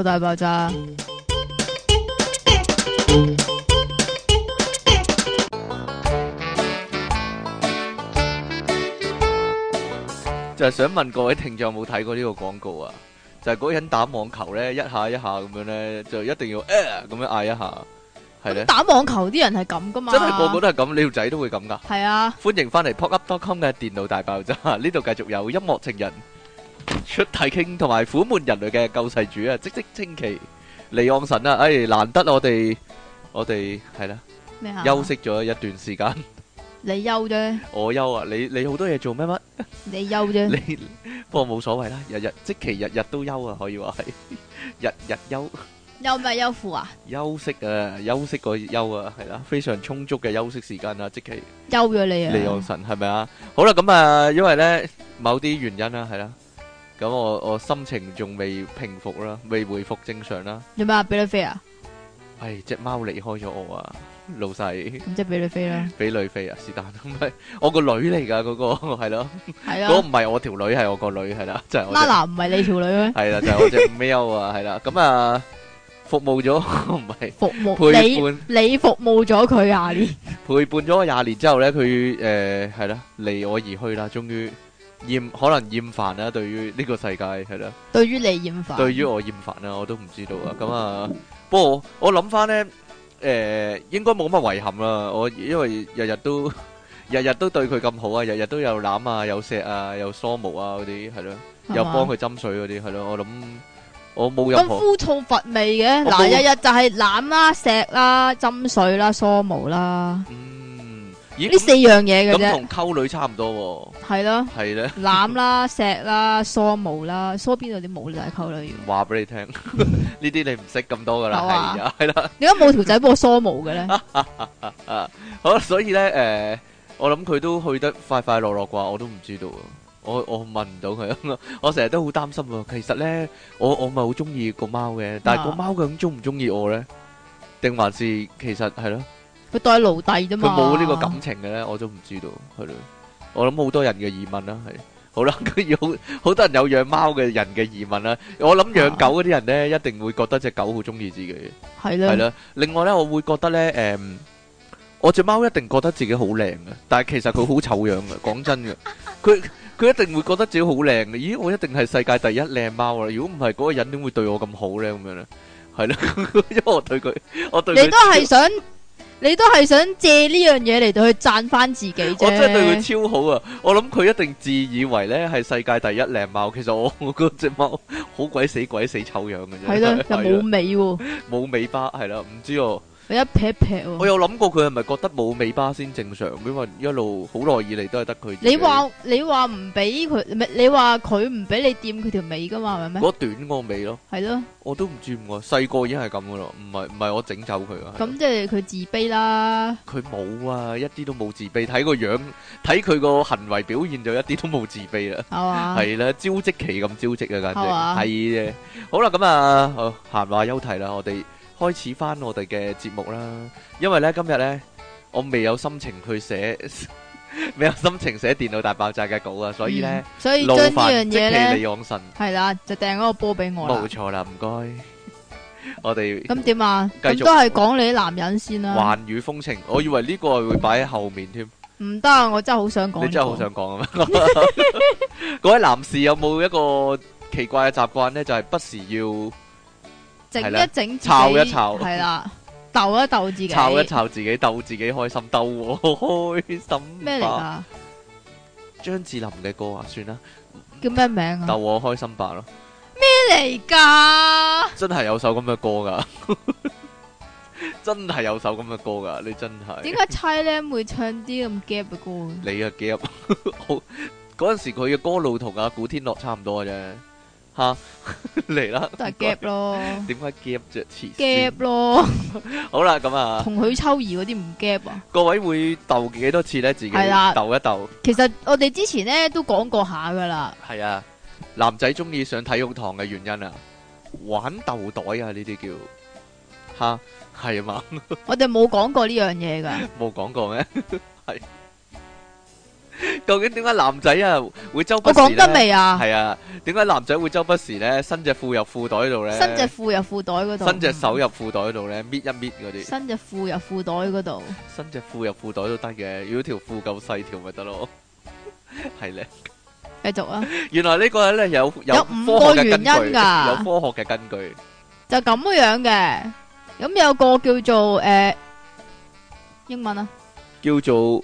大爆炸。 就係想問各位聽眾有冇睇過呢個廣告啊？就係嗰個人打網球咧，一下一下咁樣咧，就一定要咁樣嗌一下，係咧。 打網球啲人係咁噶嘛？ 真係個個都係咁，你條仔都會咁噶。 係啊。 歡迎翻嚟 popup.com 嘅電腦大爆炸，呢度繼續有音樂情人出體傾同埋苦悶人類嘅救世主啊！即稱其離岸神啊！哎，難得我哋係啦， 咩啊？ 休息咗一段時間。 你休啫。 我休啊！你好多嘢做咩乜？ 你休啫。 你不過冇所謂啦，即其日日都休啊，可以話係日日休。 休咩休褲啊？ 休息啊，休息個休啊，係啦，非常充足嘅休息時間啊，即其休咗你啊！ 離岸神係咪啊？好啦，咁啊，因為咧某啲原因啦，係啦，咁我心情仲未平復啦，未回復正常啦。 做咩啊？俾你飛啊？ 係隻貓離開咗我啊，老細。 咁即係俾你飛啦。 俾女飛啊，是但唔係我個女嚟噶嗰個係咯， 係啊， 嗰個唔係我條女，係我個女係啦，就係我。 Nana唔係你條女咩？ 係啦，就係我隻喵啊，係啦，咁啊。服務咗唔係服務陪伴你服務咗佢廿年， 陪伴咗我廿年之後咧，佢係啦離我而去啦，終於可能厭煩啦，對於呢個世界係啦， 對於你厭煩， 對於我厭煩啦，我都唔知道啊。咁啊，不過我諗翻咧，應該冇乜遺憾啦。我因為日日都對佢咁好啊，日日都有攬啊，有錫啊，有梳毛啊嗰啲係咯，又幫佢斟水嗰啲係咯，我諗。我冇任何咁枯燥乏味嘅，嗱日日就係攬啦、錫啦、斟水啦、梳毛啦， 咦？ 呢四樣嘢嘅啫。 咁同溝女差唔多喎。 係咯。 係咧。 攬啦、錫啦、梳毛啦，梳邊度啲毛就係溝女。 話俾你聽，呢啲你唔識咁多噶啦，係啊，係啦。 點解冇條仔幫我梳毛嘅咧？ 好，所以咧，我諗佢都去得快快樂樂啩，我都唔知道啊。我問唔到佢，我成日都好擔心喎。其實咧，我咪好中意個貓嘅，但係個貓究竟中唔中意我咧？定還是其實係咯？ 佢當奴隸啫嘛。 佢冇呢個感情嘅咧，我都唔知道，係咯。我諗好多人嘅疑問啦，係好啦，佢有好多人有養貓嘅人嘅疑問啦。我諗養狗嗰啲人咧，一定會覺得隻狗好中意自己。 係啦。係啦。 另外咧，我會覺得咧，我隻貓一定覺得自己好靚嘅，但係其實佢好醜樣嘅。講真嘅，佢一定會覺得自己好靚嘅。咦，我一定係世界第一靚貓啦！如果唔係，嗰個人點會對我咁好咧？咁樣咧，係咯，因為我對佢， 你都係想借呢樣嘢嚟到去讚翻自己啫。 我真係對佢超好啊！我諗佢一定自以為咧係世界第一靚貓。其實我嗰隻貓好鬼死醜樣嘅啫。係咯， 又冇尾喎， 冇尾巴係啦，唔知哦。 一撇撇喎。 我有諗過佢係咪覺得冇尾巴先正常，因為一路好耐以嚟都係得佢。 你話唔俾佢，唔係你話佢唔俾你掂佢條尾噶嘛？係咪咩？ 嗰短個尾咯。係咯。我都唔知點解，細個已經係咁噶咯，唔係我整走佢啊。 咁即係佢自卑啦。 佢冇啊，一啲都冇自卑，睇個樣，睇佢個行為表現就一啲都冇自卑啦。係嘛？係啦，招積期咁招積啊，簡直係嘅。好啦，咁啊，閒話休題啦，我哋開始翻我哋嘅節目啦，因為咧今日咧我未有心情去寫，未有心情寫電腦大爆炸嘅稿啊，所以咧， 所以將呢樣嘢咧， 離岸神係啦，就掟嗰個波俾我啦。 冇錯啦，唔該。我哋咁點啊？ 繼續咁都係講你啲男人先啦。 環宇風情，我以為呢個係會擺喺後面添。唔得啊！我真係好想講。 你真係好想講啊咩？各位男士有冇一個奇怪嘅習慣咧？就係不時要。 整一整， 炒一炒， 係啦，鬥一鬥自己， 炒一炒自己，鬥自己開心，鬥我開心。 咩嚟噶？ 張智霖嘅歌啊，算啦。 叫咩名啊？ 鬥我開心吧咯。 咩嚟噶？ 真係有首咁嘅歌噶，真係有首咁嘅歌噶，你真係。 點解猜咧會唱啲咁 gap 嘅歌？ 你啊 gap，好嗰陣時佢嘅歌路同阿古天樂差唔多嘅啫。吓嚟啦， 都係 gap 咯。 點解 gap 啫 ？gap 咯。 好啦，咁啊， 同許秋怡嗰啲唔 gap 啊？ 各位會鬥幾多次咧？自己鬥一鬥。其實我哋之前咧都講過下噶啦。係啊，男仔中意上體育堂嘅原因啊，玩鬥袋啊，呢啲叫吓係啊嘛。我哋冇講過呢樣嘢噶。冇講過咩？係。 究竟點解男仔啊會周不我時講得未啊？ 係啊，點解男仔會周不時咧伸隻褲入褲袋度咧？ 伸隻褲入褲袋嗰度， 伸隻手入褲袋度咧，搣一搣嗰啲。 伸隻褲入褲袋嗰度， 伸隻褲入褲袋都得嘅，如果條褲夠細條咪得咯。係咧， 繼續啊！ 原來呢個咧有 5個原因㗎， 有科學嘅根據。 就咁樣嘅。咁有個叫做英文啊， 叫做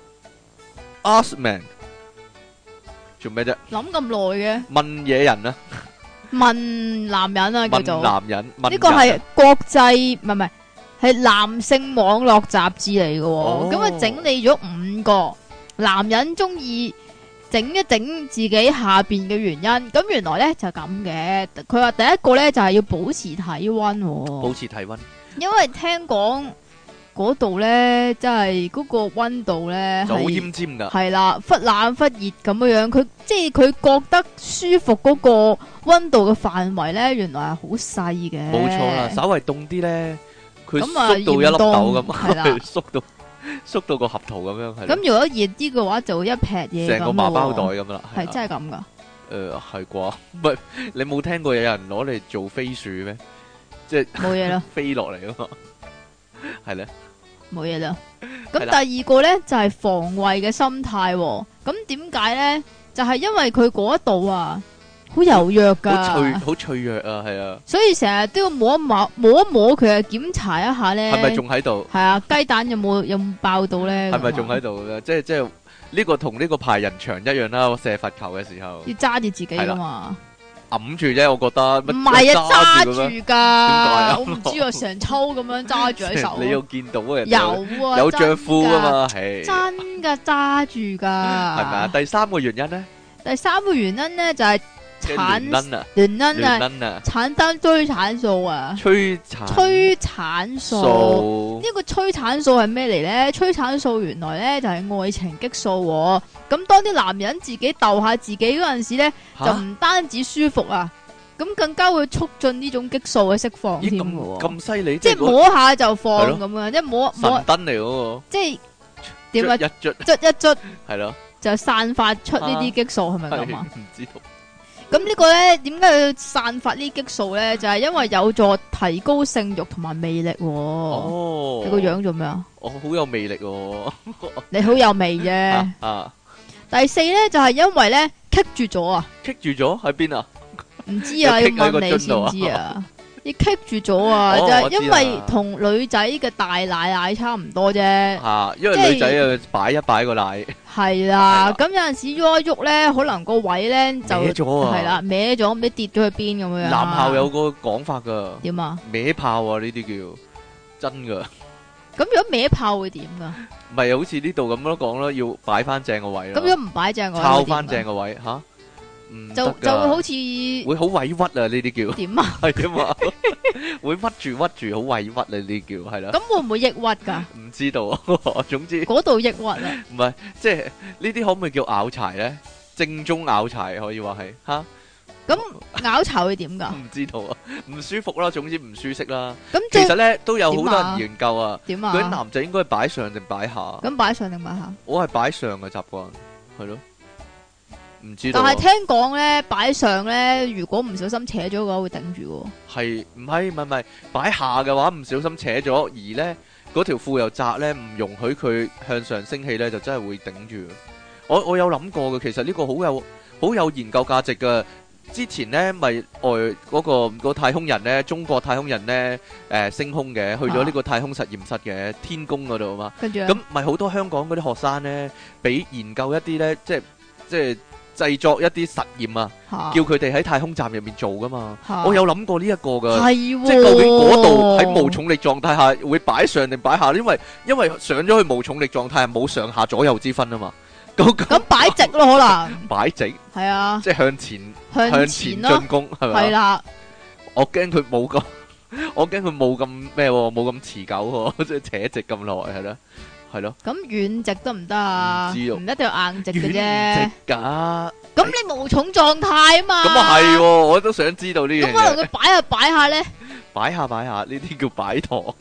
Askman， 做咩啫？ 諗咁耐嘅？ 問嘢人啊， 問男人啊，叫做問男人。 呢個係國際唔係係男性網絡雜誌嚟嘅。咁啊整理咗5個男人中意整一整自己下邊嘅原因。咁原來咧就咁嘅。佢話第一個咧就係要保持體溫， 保持體溫， 因為聽講嗰度咧，即係嗰個溫度咧就好奄尖噶。 係啦，忽冷忽熱咁樣樣。佢即係佢覺得舒服嗰個溫度嘅範圍咧，原來係好細嘅。 冇錯啦，稍微凍啲咧，佢縮到一粒豆咁，係啦，縮到個合桃咁樣。 咁如果熱啲嘅話，就會一撇嘢， 成個麻包袋咁啦。 係真係咁噶？ 係啩？唔係你冇聽過有人攞嚟做飛鼠咩？即係冇嘢啦， 飛落嚟啊嘛，係咧， 冇嘢啦。咁第二個咧就係防衛嘅心態。咁點解咧？就係因為佢嗰一度啊，好柔弱噶， 好脆弱啊，係啊。 所以成日都要摸一摸佢啊，檢查一下咧， 係咪仲喺度？ 係啊，雞蛋有冇爆到咧？ 係咪仲喺度咧？即係呢個同呢個排人牆一樣啦。我射罰球嘅時候要揸住自己噶嘛。 揞住啫，我覺得。 唔係啊，揸住噶。 點解啊？ 我唔知啊，成抽咁樣揸住喺手。 你要見到嘅。 有啊， 有着褲啊嘛，係。 真噶，揸住噶。 係咪啊？第三個原因咧？ 第三個原因咧就係亂撚啊！ 產生催產素啊！催產素呢個催產素係咩嚟咧？催產素原來咧就係愛情激素。咁當啲男人自己鬥下自己嗰陣時咧，就唔單止舒服啊，咁更加會促進呢種激素嘅釋放添嘅。 咁犀利， 即係摸下就放咁樣，即係摸神燈嚟嗰個。即係點啊？捽一捽， 係咯， 就散發出呢啲激素，係咪咁啊？ 唔知道。 咁呢個咧，點解要散發呢激素咧？就係因為有助提高性慾同埋魅力。哦，你個樣做咩啊？ 我好有魅力。 你好有味啫。第四咧就係因為咧棘住咗啊！ 棘住咗喺邊啊？ 唔知啊，要問你先知啊。你棘住咗啊，就係因為同女仔嘅大奶差唔多啫。 因為女仔啊擺一擺個奶。係啦，咁有陣時喐一喐咧，可能個位咧就歪咗啊。係啦， 歪咗，唔知跌咗去邊咁樣。 男校有個講法噶。 點啊？ 歪炮啊，呢啲叫真噶。 咁如果歪炮會點噶？ 咪好似呢度咁樣講咯，要擺翻正個位咯。 咁如果唔擺正個位， 抄翻正個位吓。 就會好似會好委屈啊！呢啲叫點啊？ 係點啊？會屈住好委屈啊！呢啲叫係啦。咁會唔會抑鬱噶？唔知道啊。總之嗰度抑鬱啊。 唔係，即係呢啲可唔可以叫拗柴咧？正宗拗柴可以話係吓。 咁拗柴會點噶？ 唔知道啊，唔舒服啦，總之唔舒適啦。咁其實咧都有好多人研究啊。 點啊？ 嗰啲男仔應該擺上定擺下？ 咁擺上定擺下？ 我係擺上嘅習慣，係咯。唔知道， 但係聽講咧，擺上咧，如果唔小心扯咗嘅話，會頂住。 係唔係擺下嘅話，唔小心扯咗，而咧嗰條褲又窄咧，唔容許佢向上升起咧，就真係會頂住。我有諗過嘅，其實呢個好有研究價值嘅。之前咧咪嗰個太空人咧，中國太空人咧升空嘅，去咗呢個太空實驗室嘅天宮嗰度啊嘛。跟住咁咪好多香港嗰啲學生咧，俾研究一啲咧，即係。製作一啲實驗啊，叫佢哋喺太空站入面做噶嘛。我有諗過呢一個噶，即係究竟嗰度喺無重力狀態下會擺上定擺下？因為上咗去無重力狀態係冇上下左右之分啊嘛。 咁擺直咯，可能擺直係啊，即係向前進攻係咪？係啦，我驚佢冇咁咩，冇咁持久，即係扯直咁耐係啦。係咯，咁軟直得唔得啊？唔一定要硬直嘅啫。 軟直噶， 咁你無重狀態啊嘛。 咁啊係，我都想知道呢樣嘢。 咁可能佢擺下咧， 擺下呢啲叫擺陀。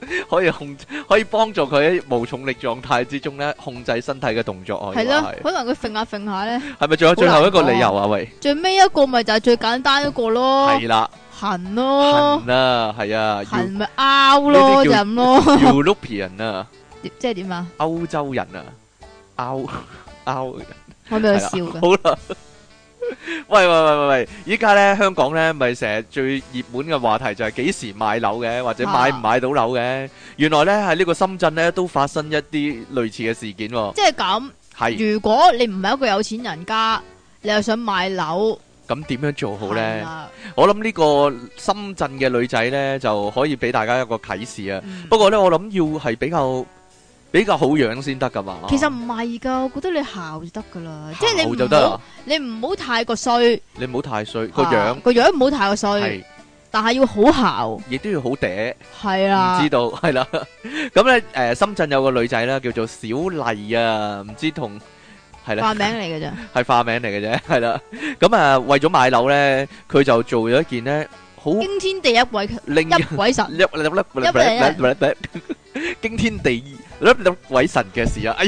可以幫助佢喺無重力狀態之中咧控制身體嘅動作。 係咯，可能佢揈下揈下咧。 係咪仲有最後一個理由啊？喂， 最尾一個咪就係最簡單一個咯。 係啦， 痕咯， 痕啊，係啊， 痕咪拗咯，就咁咯。 European 啊， 即係點啊？ 歐洲人啊，拗， 我俾佢笑㗎。 好啦。喂！依家咧香港咧，咪成日最熱門嘅話題就係幾時買樓嘅，或者買唔買到樓嘅。原來咧喺呢個深圳咧都發生一啲類似嘅事件。即係咁，係如果你唔係一個有錢人家，你又想買樓， 咁點樣做好咧？我諗呢個深圳嘅女仔咧就可以俾大家一個啟示啊。不過咧，我諗要係比較好樣先得噶嘛。 其實唔係噶，我覺得你姣就得噶啦，即係你唔好太過衰， 你唔好太衰個樣唔好太過衰，但係要好姣， 亦都要好嗲， 係啦， 唔知道係啦。咁咧深圳有個女仔啦，叫做小麗啊，唔知同係啦， 化名嚟嘅啫，係化名嚟嘅啫，係啦。咁為咗買樓咧，佢就做咗一件咧好驚天地一鬼神， 驚天地鬼神嘅事啊！哎呀，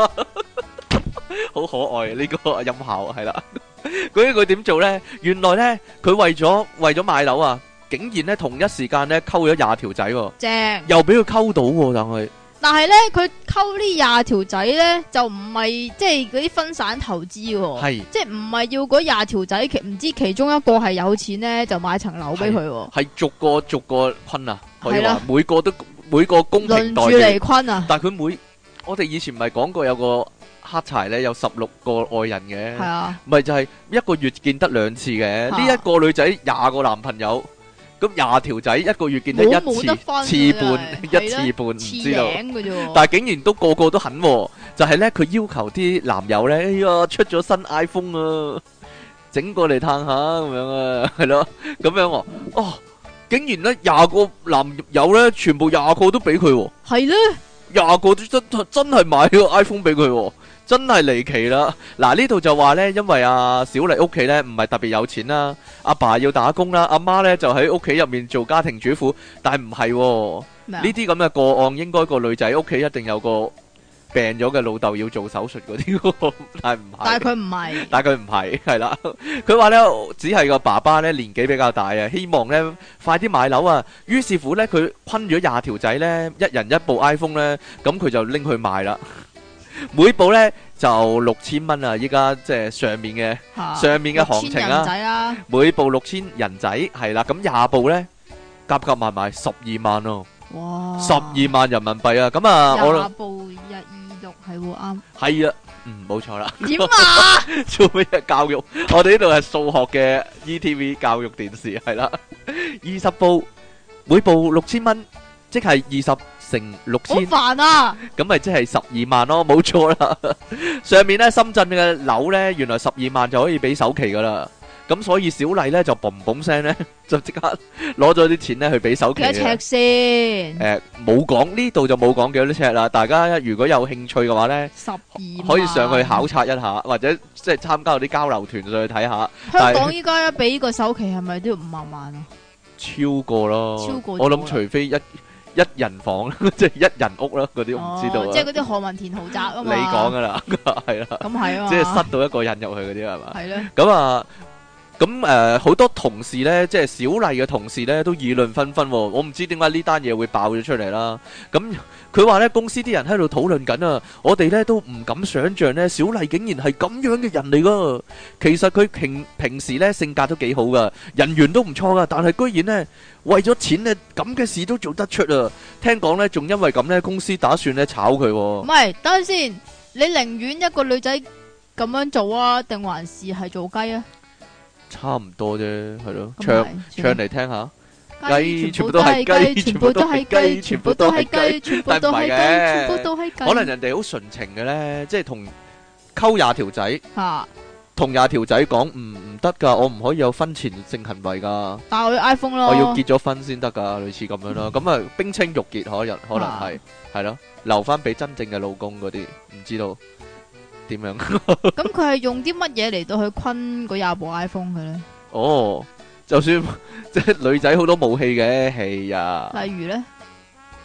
好可愛啊！呢個音效係啦，佢點做咧？原來咧，佢為咗買樓啊，竟然咧同一時間咧溝咗20條仔， 正又俾佢溝到， 但係咧佢溝呢20條仔咧就唔係即係嗰啲分散投資，係即係唔係要嗰20條仔唔知其中一個係有錢咧就買層樓俾佢，係逐個坤啊，可以話每個公平待遇輪住嚟坤啊！ 但係佢我哋以前唔係講過有個黑柴咧有16個愛人嘅，係啊，咪就係一個月見得2次嘅。呢一個女仔20個男朋友，咁20條仔一個月見得1次半，唔知道。但係竟然都個個都肯，就係咧佢要求啲男友咧，哎呀出咗新 iPhone 啊，整過嚟嘆下咁樣啊，係咯，咁樣哦。竟然咧20個男友咧，全部20個都俾佢， 係咧 20個都真係買個 iPhone 俾佢，真係離奇啦！嗱呢度就話咧，因為阿小麗屋企咧唔係特別有錢啦，阿爸要打工啦，阿媽咧就喺屋企入面做家庭主婦，但係唔係呢啲咁嘅個案，應該個女仔屋企一定有個病咗嘅老豆要做手術嗰啲，但係佢唔係，係啦。佢話咧，只係個爸爸咧年紀比較大啊，希望咧快啲買樓啊。於是乎咧，佢昆咗20條仔咧，一人一部 iPhone 咧，咁佢就拎去賣啦。每部咧就6000蚊啊！依家即係上面嘅行情啦，每部6000人仔係啦，咁20部咧夾埋12萬咯。哇！12萬人民幣啊！咁啊，我20部係喎，啱。 係啊，冇錯啦。 點啊？ 做咩嘢教育？我哋呢度係數學嘅 ETV 教育電視，係啦。20部，每部6000蚊，即係20乘6000。 好煩啊！ 咁咪即係12萬咯，冇錯啦。上面咧，深圳嘅樓咧，原來12萬就可以俾首期噶啦。咁所以小麗咧就嘣嘣聲咧，就即刻攞咗啲錢咧去俾首期。幾多尺先？冇講，呢度就冇講幾多尺啦。大家如果有興趣嘅話咧，12萬可以上去考察一下，或者即係參加啲交流團上去睇下。 香港依家俾個首期係咪都要5萬啊？ 超過咯，超過。我諗除非一人房，即係一人屋啦，嗰啲我唔知道。 即係嗰啲何文田豪宅啊嘛。 你講噶啦，係啦。咁係啊，即係塞到一個人入去嗰啲係嘛？係咧。咁啊。咁好多同事呢，即係小麗嘅同事呢，都議論紛紛。我唔知點解呢單嘢會爆咗出嚟啦。咁佢話呢，公司啲人喺度討論緊啊，我哋呢都唔敢想像呢，小麗竟然係咁樣嘅人嚟噶。其實佢平時呢性格都幾好噶，人緣都唔錯噶，但係居然呢為咗錢呢咁嘅事都做得出啊！聽講呢，仲因為咁呢，公司打算呢炒佢。 唔係，等陣先，你寧願一個女仔咁樣做啊，定還是係做雞啊？ 差唔多啫，係咯，唱嚟聽下。雞全部都係雞，全部都係雞，全部都係雞，全部都係雞，全部都係雞。可能人哋好純情嘅咧，即係同溝20條仔，同20條仔講唔得噶，我唔可以有婚前性行為噶。 但係我要 iPhone 咯， 我要結咗婚先得噶，類似咁樣咯。咁啊，冰清玉潔可能係咯，留翻俾真正嘅老公嗰啲，唔知道。點樣？ 咁佢係用啲乜嘢嚟到去昆嗰20部 iPhone 嘅咧？ 哦，就算即係女仔好多武器嘅，係啊。 例如咧，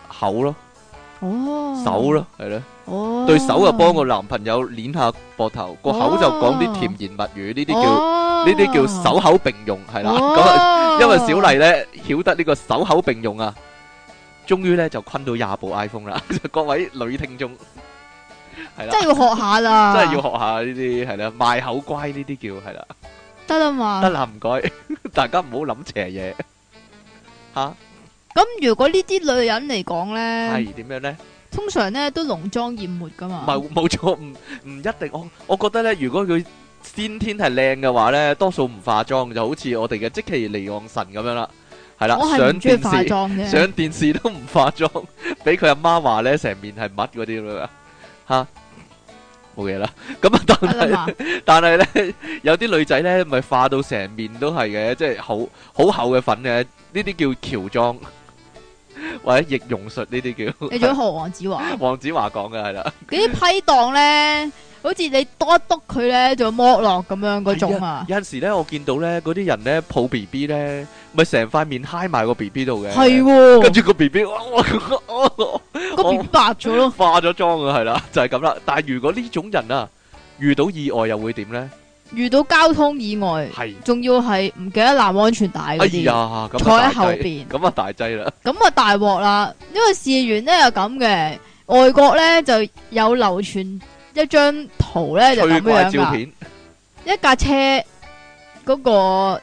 口咯，手咯，係咯， 對手就幫個男朋友捏下膊頭，個口就講啲甜言蜜語，呢啲叫手口並用，係啦。咁因為小麗咧曉得呢個手口並用啊，終於咧就昆到20部 iPhone 啦。各位女聽眾，係啦， 真係要學下啦， 真係要學下呢啲，係啦，賣口乖呢啲叫，係啦， 得啦嘛， 得啦，唔該，大家唔好諗邪嘢吓。 咁如果呢啲女人嚟講咧， 係點樣咧？ 通常咧都濃妝艷抹噶嘛。 冇錯，唔一定。我覺得咧，如果佢先天係靚嘅話咧，多數唔化妝，就好似我哋嘅積淇離岸神咁樣啦。係啦，上電視都唔化妝，俾佢阿媽話咧，成面係乜嗰啲啦吓，冇嘢啦。咁啊，但係咧，有啲女仔咧，咪化到成面都係嘅，即係好厚嘅粉嘅，呢啲叫喬裝。或者易容術呢啲叫， 你仲學黃子華？ 黃子華講嘅係啦， 嗰啲批檔咧，好似你多一督佢咧，就剝落咁樣嗰種啊。 有陣時咧，我見到咧，嗰啲人咧抱 B B 咧，咪成塊面揩埋個 B B 度嘅， 係， 跟住個 B B， 個 B B 白咗咯， 化咗妝啊，係啦，就係咁啦。但係如果呢種人啊，遇到意外又會點咧？ 遇到交通意外，係仲要係唔記得攬安全帶嗰啲，坐喺後邊， 咁啊大劑啦， 咁啊大鑊啦。因為事緣咧又咁嘅，外國咧就有流傳一張圖咧就咁樣照片， 一架車嗰個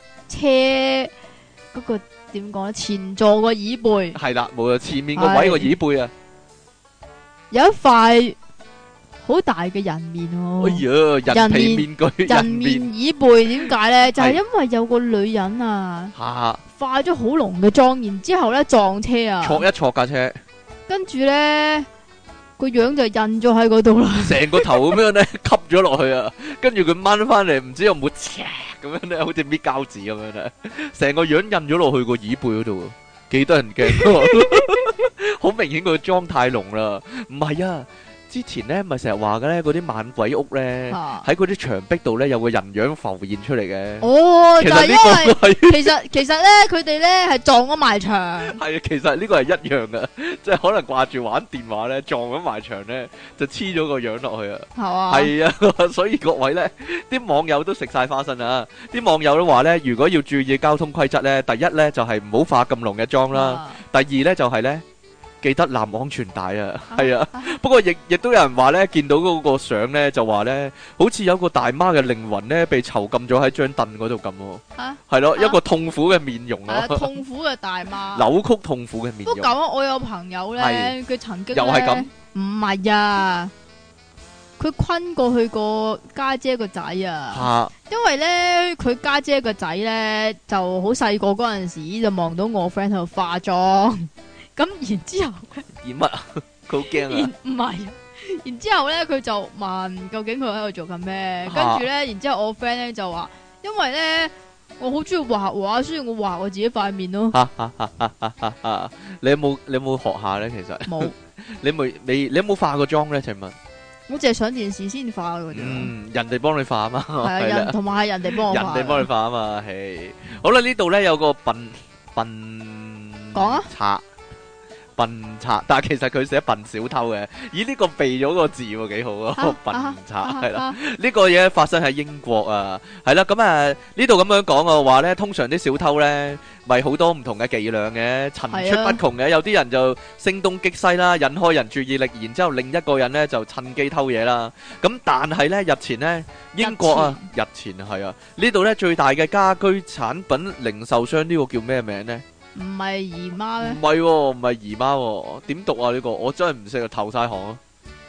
點講咧，前座個椅背係啦，冇啊，前面個位個椅背啊， 有一塊好大嘅人面喎！ 哎呀，人皮面具， 人面椅背，點解咧？就係因為有個女人啊，化咗好濃嘅妝，然之後咧撞車啊， 挫一挫架車， 跟住咧個樣就印咗喺嗰度啦， 成個頭咁樣咧吸咗落去啊，跟住佢掹翻嚟，唔知有冇咁樣咧，好似搣膠紙咁樣咧，成個樣印咗落去個椅背嗰度，幾得人驚，好明顯佢妝太濃啦，唔係啊。之前咧咪成日話嘅咧，嗰啲猛鬼屋咧喺嗰啲牆壁度咧有個人樣浮現出嚟嘅。 哦，就係因為其實咧佢哋咧係撞咗埋牆。 係啊，其實呢個係一樣嘅，即係可能掛住玩電話咧撞咗埋牆咧就黐咗個樣落去啊。係啊，係啊，所以各位咧啲網友都食晒花生啊！啲網友都話咧，如果要注意交通規則咧，第一咧就係唔好化咁濃嘅妝啦，第二咧就係咧。記得攬安全帶啊，係啊，不過亦都有人話咧，見到嗰個相咧就話咧，好似有個大媽嘅靈魂咧被囚禁咗喺張凳嗰度咁，係咯，一個痛苦嘅面容啊， 痛苦嘅大媽， 扭曲痛苦嘅面容。 不過咁，我有朋友咧，佢曾經又係咁， 唔係啊，佢昆過去個家姐個仔啊，因為咧佢家姐個仔咧就好細個嗰陣時就望到我 friend 喺度化妝。咁然之後咧， 演乜啊？佢好驚啊！ 唔係，然之後咧佢就問究竟佢喺度做緊咩？跟住咧，然之後我 friend 咧就話，因為咧我好中意畫畫，所以我畫我自己塊面咯。 你有冇學下咧？其實冇。你有冇化過妝咧？請問？ 我淨係上電視先化嘅啫。 人哋幫你化啊嘛。係啊，人同埋係人哋幫我化。 人哋幫你化啊嘛，係。好啦，呢度咧有個笨講啊。 賊。笨賊，但係其實佢寫笨小偷嘅，咦呢個避咗個字喎，幾好啊！笨賊係啦，呢個嘢發生喺英國啊，係啦，咁啊呢度咁樣講嘅話咧，通常啲小偷咧咪好多唔同嘅伎倆嘅，層出不窮嘅，有啲人就聲東擊西啦，引開人注意力，然之後另一個人咧就趁機偷嘢啦。咁但係咧日前咧英國啊，日前係啊呢度咧最大嘅家居產品零售商呢個叫咩名咧？ 唔係姨媽咩？ 唔係，唔係姨媽，點讀啊？呢個我真係唔識啊，投晒行啊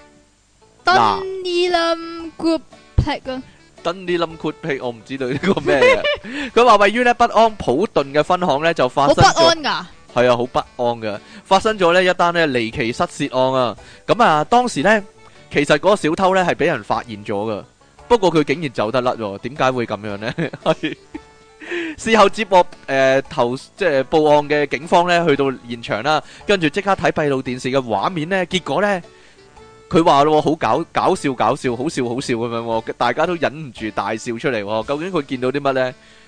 ！Dunelm Group Pack 啊 ，Dunelm Group Pack，我唔知道呢個咩嘅。佢話位於咧北安普頓嘅分行咧就發生咗，好不安噶，係啊，好不安噶，發生咗呢一單咧離奇失竊案啊！咁啊，當時咧其實嗰個小偷咧係俾人發現咗噶，不過佢竟然走得甩，點解會咁樣咧？係。事後接獲即係報案嘅警方咧，去到現場啦，跟住即刻睇閉路電視嘅畫面咧，結果咧佢話咯，好搞笑，好笑咁樣，大家都忍唔住大笑出嚟。究竟佢見到啲乜咧？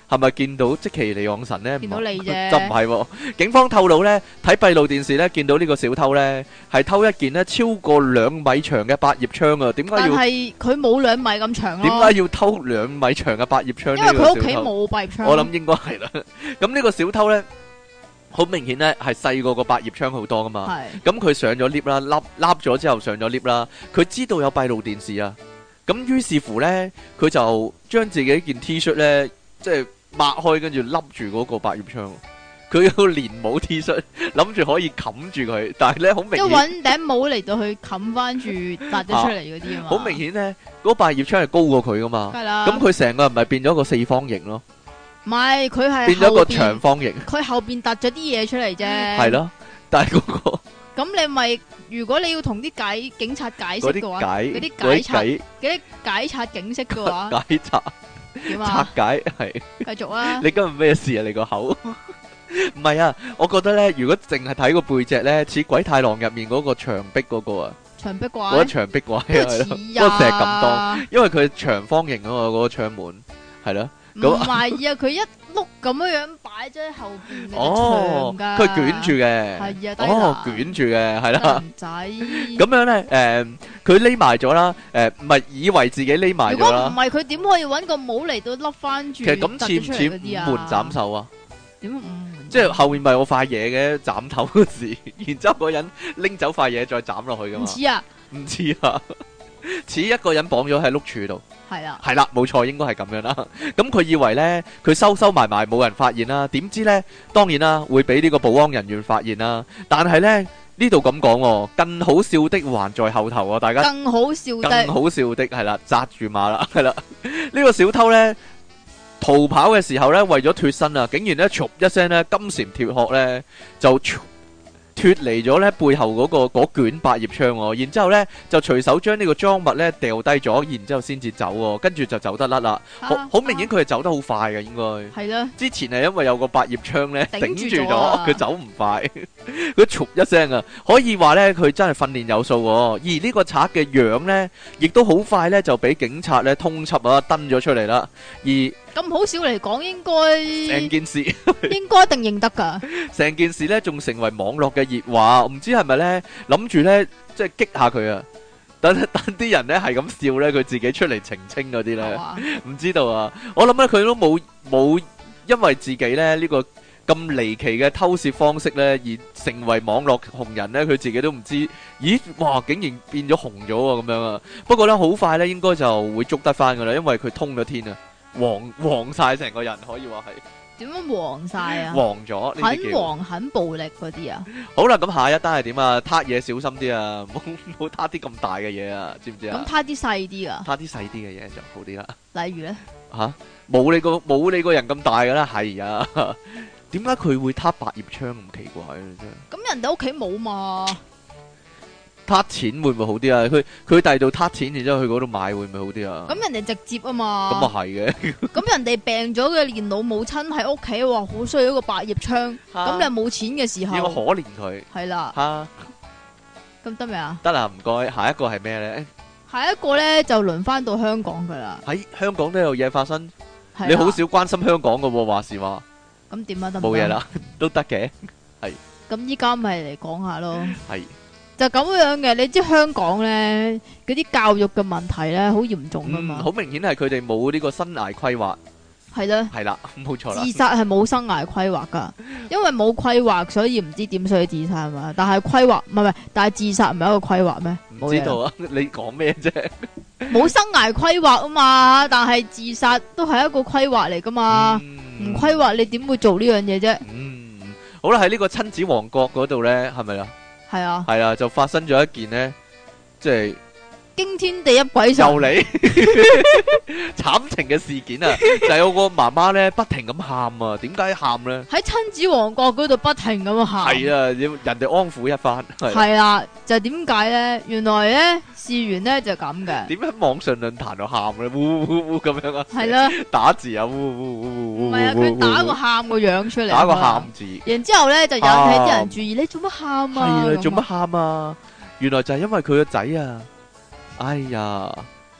係咪見到積淇離岸神咧？ 見到你啫， 就唔係喎。警方透露咧，睇閉路電視咧，見到呢個小偷咧係偷一件咧超過2米長嘅百葉窗啊！點解要？但係佢冇2米咁長咯。 點解要偷2米長嘅百葉窗？ 因為佢屋企冇百葉窗。 我諗應該係啦。咁呢個小偷咧，好明顯咧係細過個百葉窗好多噶嘛。係。咁佢上咗 lift 啦，笠咗之後上咗 lift 啦，佢知道有閉路電視啊。咁於是乎咧，佢就將自己件 T 恤咧，即係擘開，跟住笠住嗰個百葉窗。佢有連帽 T 恤，諗住可以冚住佢，但係咧好明顯， 即係揾頂帽嚟到去冚翻住凸咗出嚟嗰啲啊嘛。 好明顯咧，嗰百葉窗係高過佢噶嘛。係啦。咁佢成個人咪變咗個四方形咯。唔係，佢係變咗個長方形。佢後邊凸咗啲嘢出嚟啫。係咯，但係嗰個。咁你咪，如果你要同啲警察解釋嘅話，嗰啲解拆警色嘅話，解拆點啊？拆解係。繼續啊！你今日咩事啊？你個口唔係啊？我覺得咧，如果淨係睇個背脊咧，似鬼太郎入面嗰個牆壁嗰個啊，牆壁怪，嗰個牆壁怪係咯，嗰個石咁多，因為佢長方形啊嘛，嗰個窗門係咯。唔係啊，佢一碌咁樣擺咗喺後邊嘅牆噶，佢捲住嘅，係啊，捲住嘅，係啦，仔咁樣咧，佢匿埋咗啦，唔係以為自己匿埋咗啦。如果唔係，佢點可以搵個帽嚟到笠翻住？其實咁似唔似五門斬首啊？點五門？即係後面咪有塊嘢嘅斬頭嗰時，然之後嗰人拎走塊嘢再斬落去噶嘛？唔似啊，唔似啊，似一個人綁咗喺碌柱度。係啦，係啦，冇錯，應該係咁樣啦。咁佢以為咧，佢收埋冇人發現啦，點知咧，當然啦，會俾呢個保安人員發現啦。但係咧，呢度咁講，更好笑的還在後頭啊！大家更好笑的係啦，紮住馬啦，係啦。呢個小偷咧逃跑嘅時候咧，為咗脫身啊，竟然咧，唰一聲咧，金蟬脫殼咧就脫離咗咧背後嗰卷百葉窗喎，然之後咧就隨手將呢個贓物咧掉低咗，然之後先至走喎，跟住就走得甩啦。好明顯佢係走得好快嘅，應該係啦。之前係因為有個百葉窗咧頂住咗，佢走唔快。佢唰一聲啊，可以話咧佢真係訓練有素喎。而呢個賊嘅樣咧，亦都好快咧就俾警察咧通緝啊，登咗出嚟啦。而咁好少嚟講，應該成件事應該一定認得噶。成件事咧，仲成為網絡嘅熱話，唔知係咪咧諗住咧，即係激下佢啊！等啲人咧係咁笑咧，佢自己出嚟澄清嗰啲咧，唔知道啊！我諗咧佢都冇因為自己咧呢個咁離奇嘅偷竊方式咧而成為網絡紅人咧，佢自己都唔知。咦，哇！竟然變咗紅咗喎，咁樣啊！不過咧好快咧，應該就會捉得翻噶啦，因為佢通咗天啊！黃晒成個人，可以話係點樣黃晒啊？黃咗，很黃很暴力嗰啲啊！好啦，咁下一單係點啊？撻嘢小心啲啊，唔好撻啲咁大嘅嘢啊，知唔知啊？咁撻啲細啲啊？撻啲細啲嘅嘢就好啲啦。例如咧吓，冇你個人咁大噶啦，係啊？點解佢會撻百葉窗咁奇怪咧？真係咁人哋屋企冇嘛？撻錢會唔會好啲啊？佢第度撻錢，然之後去嗰度買會唔會好啲啊？咁人哋直接啊嘛。咁啊係嘅。咁人哋病咗嘅年老母親喺屋企，話好需要一個百葉窗。咁你又冇錢嘅時候，要可憐佢。係啦。吓，咁得未啊？得啦，唔該。下一個係咩咧？下一個咧就輪翻到香港噶啦。喺香港都有嘢發生。你好少關心香港噶喎，話時話。咁點啊？得唔得？冇嘢啦，都得嘅。係。咁依家咪嚟講下咯。係。就咁樣嘅，你知香港咧嗰啲教育嘅問題咧好嚴重噶嘛？好明顯係佢哋冇呢個生涯規劃。係啦，係啦，冇錯啦。自殺係冇生涯規劃噶，因為冇規劃，所以唔知點需要自殺嘛。但係規劃唔係，但係自殺唔係一個規劃咩？唔知道啊，你講咩啫？冇生涯規劃啊嘛，但係自殺都係一個規劃嚟噶嘛。唔規劃你點會做呢樣嘢啫？好啦，喺呢個親子王國嗰度咧，係咪啊？係啊，係啊，就發生咗一件呢，即係驚天地泣鬼神又嚟慘情嘅事件啊！就有個媽媽咧不停咁喊啊，點解喊咧？喺親子王國嗰度不停咁喊，係啊，要人哋安撫一番。係啊，就點解咧？原來咧事緣咧就咁嘅。點解網上論壇度喊咧？嗚嗚嗚咁樣啊？係啦，打字啊，嗚嗚嗚嗚。唔係啊，佢打個喊個樣出嚟，打個喊字。然之後咧就引起啲人注意，你做乜喊啊？係啊，做乜喊啊？原來就係因為佢個仔啊！哎呀，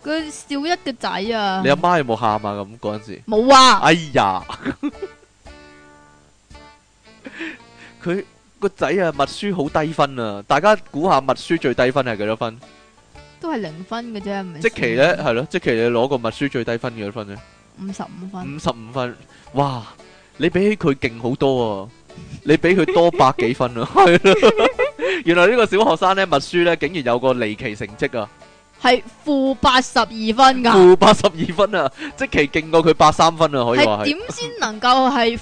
佢小一嘅仔啊！ 你阿媽有冇喊啊？咁嗰陣時冇啊！ 哎呀，佢個仔啊，默書好低分啊！大家估下默書最低分係幾多分？ 都係0分嘅啫，唔係。即期咧係咯，即期你攞個默書最低分幾多分咧 ？55分。 55分，哇！你比起佢勁好多啊！你比佢多百幾分啊！係咯，原來呢個小學生咧默書咧竟然有個離奇成績啊！ 係-82分噶。 -82分啊！即期勁過佢83分啊！可以話係。點先能夠係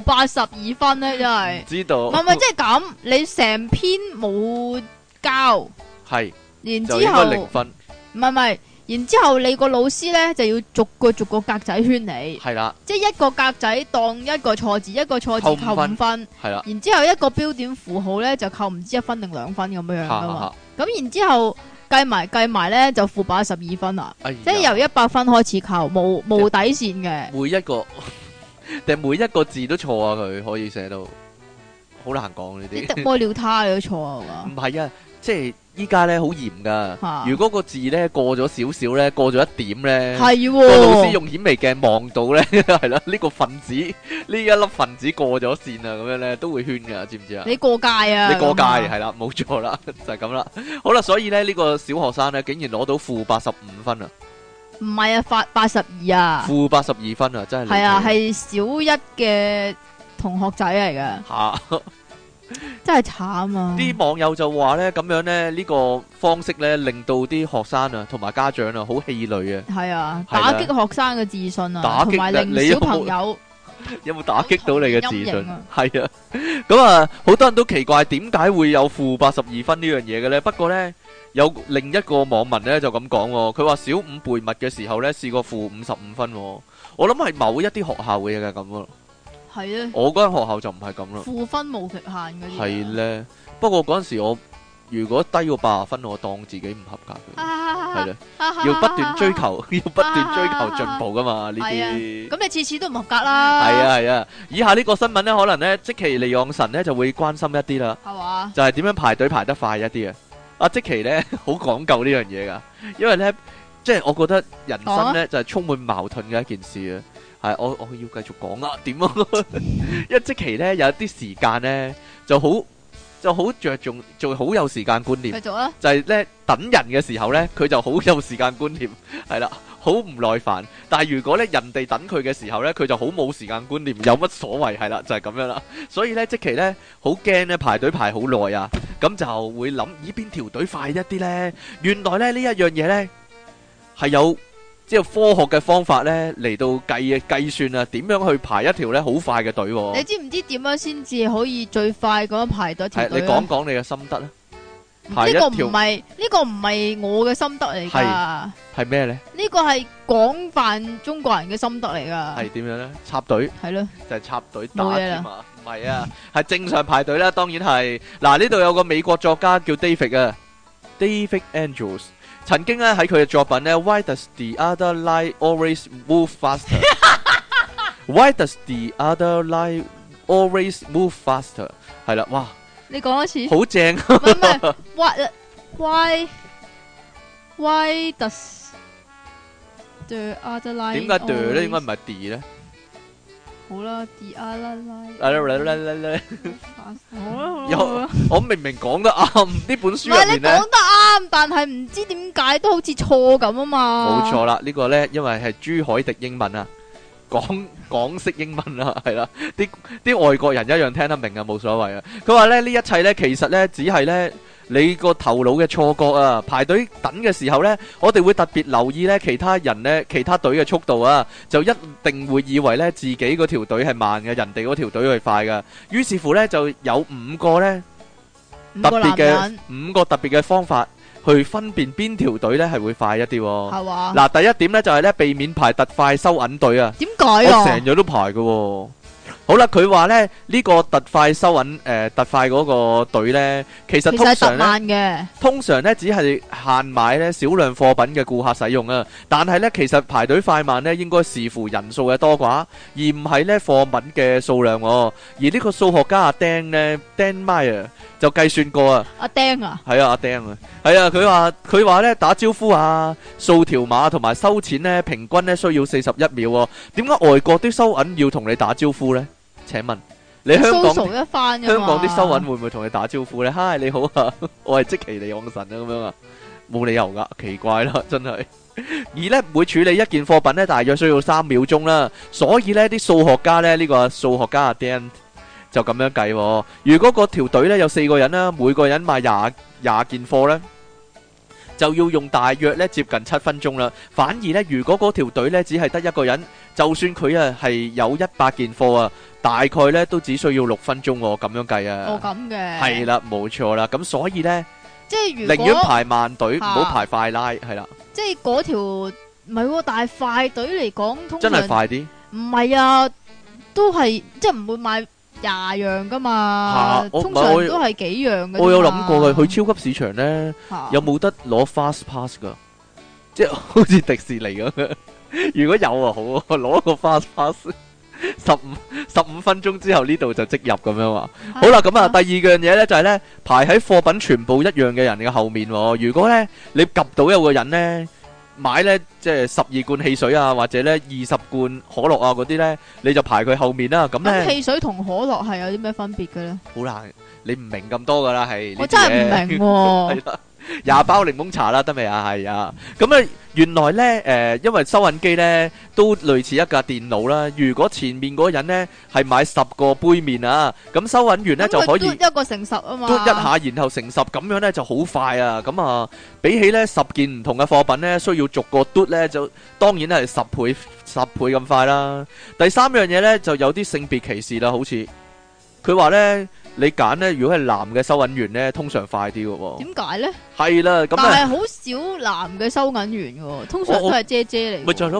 -82分咧？真係。知道。唔係，即係咁，你成篇冇交。係。然之後。就應該0分。唔係。然之後你個老師咧就要逐個格仔圈你。係啦。即係一個格仔當一個錯字，一個錯字扣5分。係啦。然之後一個標點符號咧就扣唔知1分定2分咁樣樣噶嘛。咁然之後計埋咧就-82分啦。即係由100分開始扣，冇底線嘅。每一個字都錯啊！佢可以寫到好難講呢啲。屙尿他你都錯啊嘛？唔係啊，即係。依家咧好嚴噶，如果個字咧過咗少少咧，過咗一點咧，個老師用顯微鏡望到咧，係啦，呢個分子呢一粒分子過咗線啊，咁樣咧都會圈噶，知唔知啊？你過界啊！你過界係啦，冇錯啦，就係咁啦。好啦，所以咧呢個小學生咧竟然攞到-85分啊！唔係啊，82啊！-82分啊，真係係啊，係小一嘅同學仔嚟噶。真係慘啊！啲網友就話咧，咁樣咧呢個方式咧，令到啲學生啊同埋家長啊好氣餒啊！係啊，打擊學生嘅自信啊，同埋令小朋友有冇打擊到你嘅自信？係啊，咁啊，好多人都奇怪點解會有-82分呢樣嘢嘅咧？不過咧，有另一個網民咧就咁講，佢話小5背默嘅時候咧試過-55分，我諗係某一啲學校嘅嘢嘅咁咯。係咧，我嗰間學校就唔係咁啦。負分無極限嗰啲。係咧，不過嗰陣時我如果低過80分，我當自己唔合格嘅。係咧，要不斷追求，要不斷追求進步噶嘛呢啲。咁你次次都唔合格啦。係啊，以下呢個新聞咧，可能咧積淇離岸神咧就會關心一啲啦。係嘛？就係點樣排隊排得快一啲啊？阿積淇咧好講究呢樣嘢噶，因為咧即係我覺得人生咧就係充滿矛盾嘅一件事啊。係我要繼續講啊，點啊？因為積淇咧有啲時間咧就好着重，就好有時間觀念。繼續啊！就係咧等人嘅時候咧，佢就好有時間觀念，係啦，好唔耐煩。但係如果咧人哋等佢嘅時候咧，佢就好冇時間觀念，有乜所謂？係啦，就係咁樣啦。所以咧積淇咧好驚咧排隊排好耐啊，咁就會諗咦邊條隊快一啲咧？原來咧呢一樣嘢咧係有。即係科學嘅方法咧，嚟到計算啊，點樣去排一條咧好快嘅隊？你知唔知點樣先至可以最快咁樣排到條隊？你講講你嘅心得啦。呢個唔係我嘅心得嚟噶。係咩咧？呢個係廣泛中國人嘅心得嚟噶。係點樣咧？插隊。係咯。就係插隊打添嘛。唔係啊，係正常排隊啦。當然係。嗱，呢度有個美國作家叫 David 啊 ，David Andrews。曾經咧喺佢嘅作品咧 ，Why does the other line always move faster？ Why does the other line always move faster？ 係啦，哇！你講一次，好正。唔係，Why does the other line？ 點解 the 咧？應該唔係 D 咧？好啦 ，the other line。我明明講得啱，呢本書入面咧，唔係你講得啱，但係唔知點解都好似錯咁啊嘛。冇錯啦，呢個咧因為係朱凱迪英文啊，港式英文啊，係啦，啲外國人一樣聽得明啊，冇所謂啊。佢話咧呢一切咧，其實咧只係咧你個頭腦嘅錯覺啊。排隊等嘅時候咧，我哋會特別留意咧其他人咧其他隊嘅速度啊，就一定會以為咧自己嗰條隊係慢嘅，人哋嗰條隊係快噶。於是乎咧就有五個特別嘅方法去分辨邊條隊咧係會快一啲。係嘛？嗱，第一點咧就係咧避免排特快收銀隊啊。點解啊？我成日都排嘅。 好啦，佢話咧呢個特快收銀特快嗰個隊咧，其實通常咧只係限買咧少量貨品嘅顧客使用啊。但係咧其實排隊快慢咧應該視乎人數嘅多寡，而唔係咧貨品嘅數量。而呢個數學家阿丁咧 Dan Meyer 就計算過啊。 阿丁啊？ 係啊，阿丁啊，係啊，佢話咧打招呼啊、掃條碼同埋收錢咧，平均咧需要41秒。點解外國啲收銀要同你打招呼咧？請問你香港啲收銀會唔會同你打招呼呢？嗨，你好啊，我係積淇離岸神啊，咁樣啊，冇理由噶，奇怪啦，真係。而呢每處理一件貨品呢，大約需要3秒鐘啦，所以呢啲數學家呢，呢個數學家阿 Dan 就咁樣計。如果嗰條隊呢有4個人啦，每個人買廿件貨呢，就要用大約咧接近7分鐘啦。反而咧，如果嗰條隊咧只係得一個人，就算佢啊係有100件貨啊，大概咧都只需要6分鐘喎。咁樣計啊。 哦，咁嘅。 係啦，冇錯啦。咁所以咧， 即係如果寧願排慢隊，唔好排快拉，係啦。 即係嗰條唔係喎，但係快隊嚟講，通常真係快啲。 唔係啊，都係即係唔會買20樣噶嘛，通常都係幾樣嘅。 我有諗過嘅，去超級市場咧，有冇得攞 fast pass 噶？即係好似迪士尼咁樣。如果有啊，好啊，攞個 fast pass， 15分鐘之後呢度就即入咁樣啊。好啦，咁啊，第二樣嘢咧就係咧排喺貨品全部一樣嘅人嘅後面。如果咧你及到有個人咧買咧即係12罐汽水啊，或者咧20罐可樂啊嗰啲咧，你就排佢後面啦。咁咧汽水同可樂係有啲咩分別嘅咧？ 好難，你唔明咁多噶啦，係我真係唔明喎。 係啦，20包檸檬茶啦，得未啊？係啊，咁啊，原來咧因為收銀機咧都類似一架電腦啦。如果前面嗰個人咧係買10個杯麵啊，咁收銀員咧就可以一個乘10啊嘛， 嘟一下，然後乘10，咁樣咧就好快啊。咁啊，比起咧10件唔同嘅貨品咧，需要逐個嘟咧，就當然係10倍咁快啦。第三樣嘢咧就有啲性別歧視啦，好似佢話咧。你揀咧，如果係男嘅收銀員咧，通常快啲嘅喎。點解咧？係啦，咁但係好少男嘅收銀員嘅，通常都係姐姐嚟。 咪就係咯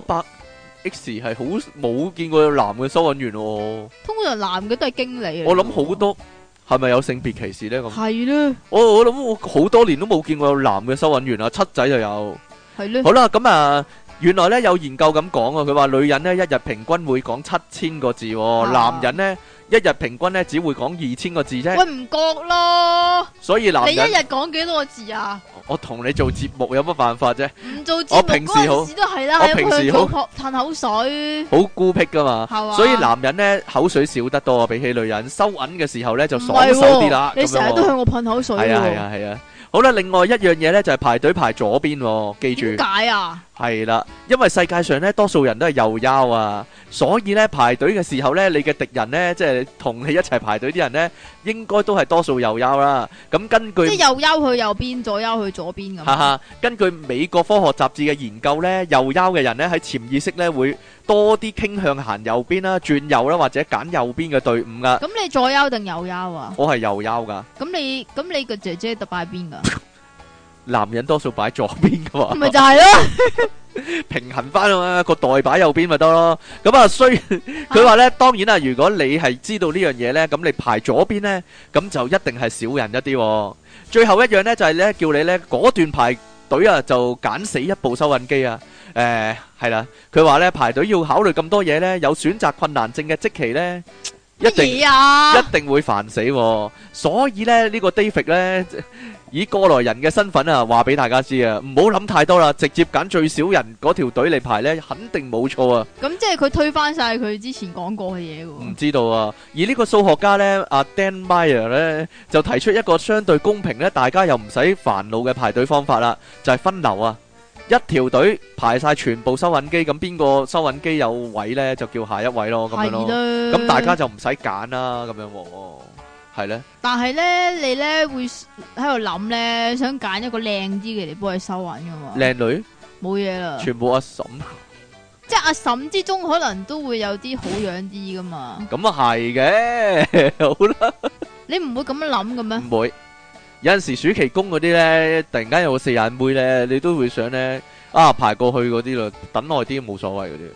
，8X 係好冇見過有男嘅收銀員喎。 通常男嘅都係經理。 我諗好多係咪有性別歧視咧？咁係咧。 我諗我好多年都冇見過有男嘅收銀員啊，七仔就有。係咧。好啦，咁啊。原來咧有研究咁講啊，佢話女人咧一日平均會講7000個字，男人咧一日平均咧只會講2000個字啫。喂，唔覺咯。所以男人你一日講幾多個字啊？我同你做節目有乜辦法啫？唔做節目嗰陣時都係啦，我平時好嘆口水，好孤僻噶嘛。所以男人咧口水少得多，比起女人收銀嘅時候咧就爽手啲啦。你成日都向我噴口水。係啊。好啦，另外一樣嘢咧就係排隊排左邊，記住。點解啊？係啦，因為世界上咧多數人都係右腰啊，所以咧排隊嘅時候咧，你嘅敵人咧即係同你一齊排隊啲人咧，應該都係多數右腰啦。咁根據即係右腰去右邊，左腰去左邊咁。哈哈，根據美國科學雜誌嘅研究咧，右腰嘅人咧喺潛意識咧會多啲傾向行右邊啦、轉右啦，或者揀右邊嘅隊伍噶。咁你左腰定右腰啊？我係右腰噶。咁你個姐姐就擺邊噶？男人多數擺左邊噶嘛，咪就係咯，平衡翻啊嘛，個袋擺右邊咪得咯。咁啊，佢話咧，當然啦，如果你係知道呢樣嘢咧，咁你排左邊咧，咁就一定係少人一啲。最後一樣咧就係咧，叫你咧果斷排隊啊，就揀死一部收銀機啊。係啦，佢話咧排隊要考慮咁多嘢咧，有選擇困難症嘅積淇咧，一定會煩死。所以咧呢個 David 咧。以過來人嘅身份啊，話俾大家知啊，唔好諗太多啦，直接揀最少人嗰條隊嚟排呢，肯定冇錯啊！咁即係佢推翻晒佢之前講過嘅嘢喎。唔知道啊，而呢個數學家呢，阿 Dan Meyer 呢，就提出一個相對公平呢，大家又唔使煩惱嘅排隊方法啦，就係分流啊！一條隊排晒全部收銀機，咁邊個收銀機有位呢，就叫下一位咯，咁樣咯。咁大家就唔使揀啦，咁樣。係咧，但係咧，你咧會喺度諗咧，想揀一個靚啲嘅嚟幫佢收銀噶嘛？靚女冇嘢啦，全部阿嬸，即係阿嬸之中可能都會有啲好樣啲噶嘛？咁啊係嘅，好啦，你唔會咁樣諗嘅咩？唔會，有陣時暑期工嗰啲咧，突然間有個4眼妹咧，你都會想咧排過去嗰啲咯，等耐啲冇所謂嗰啲。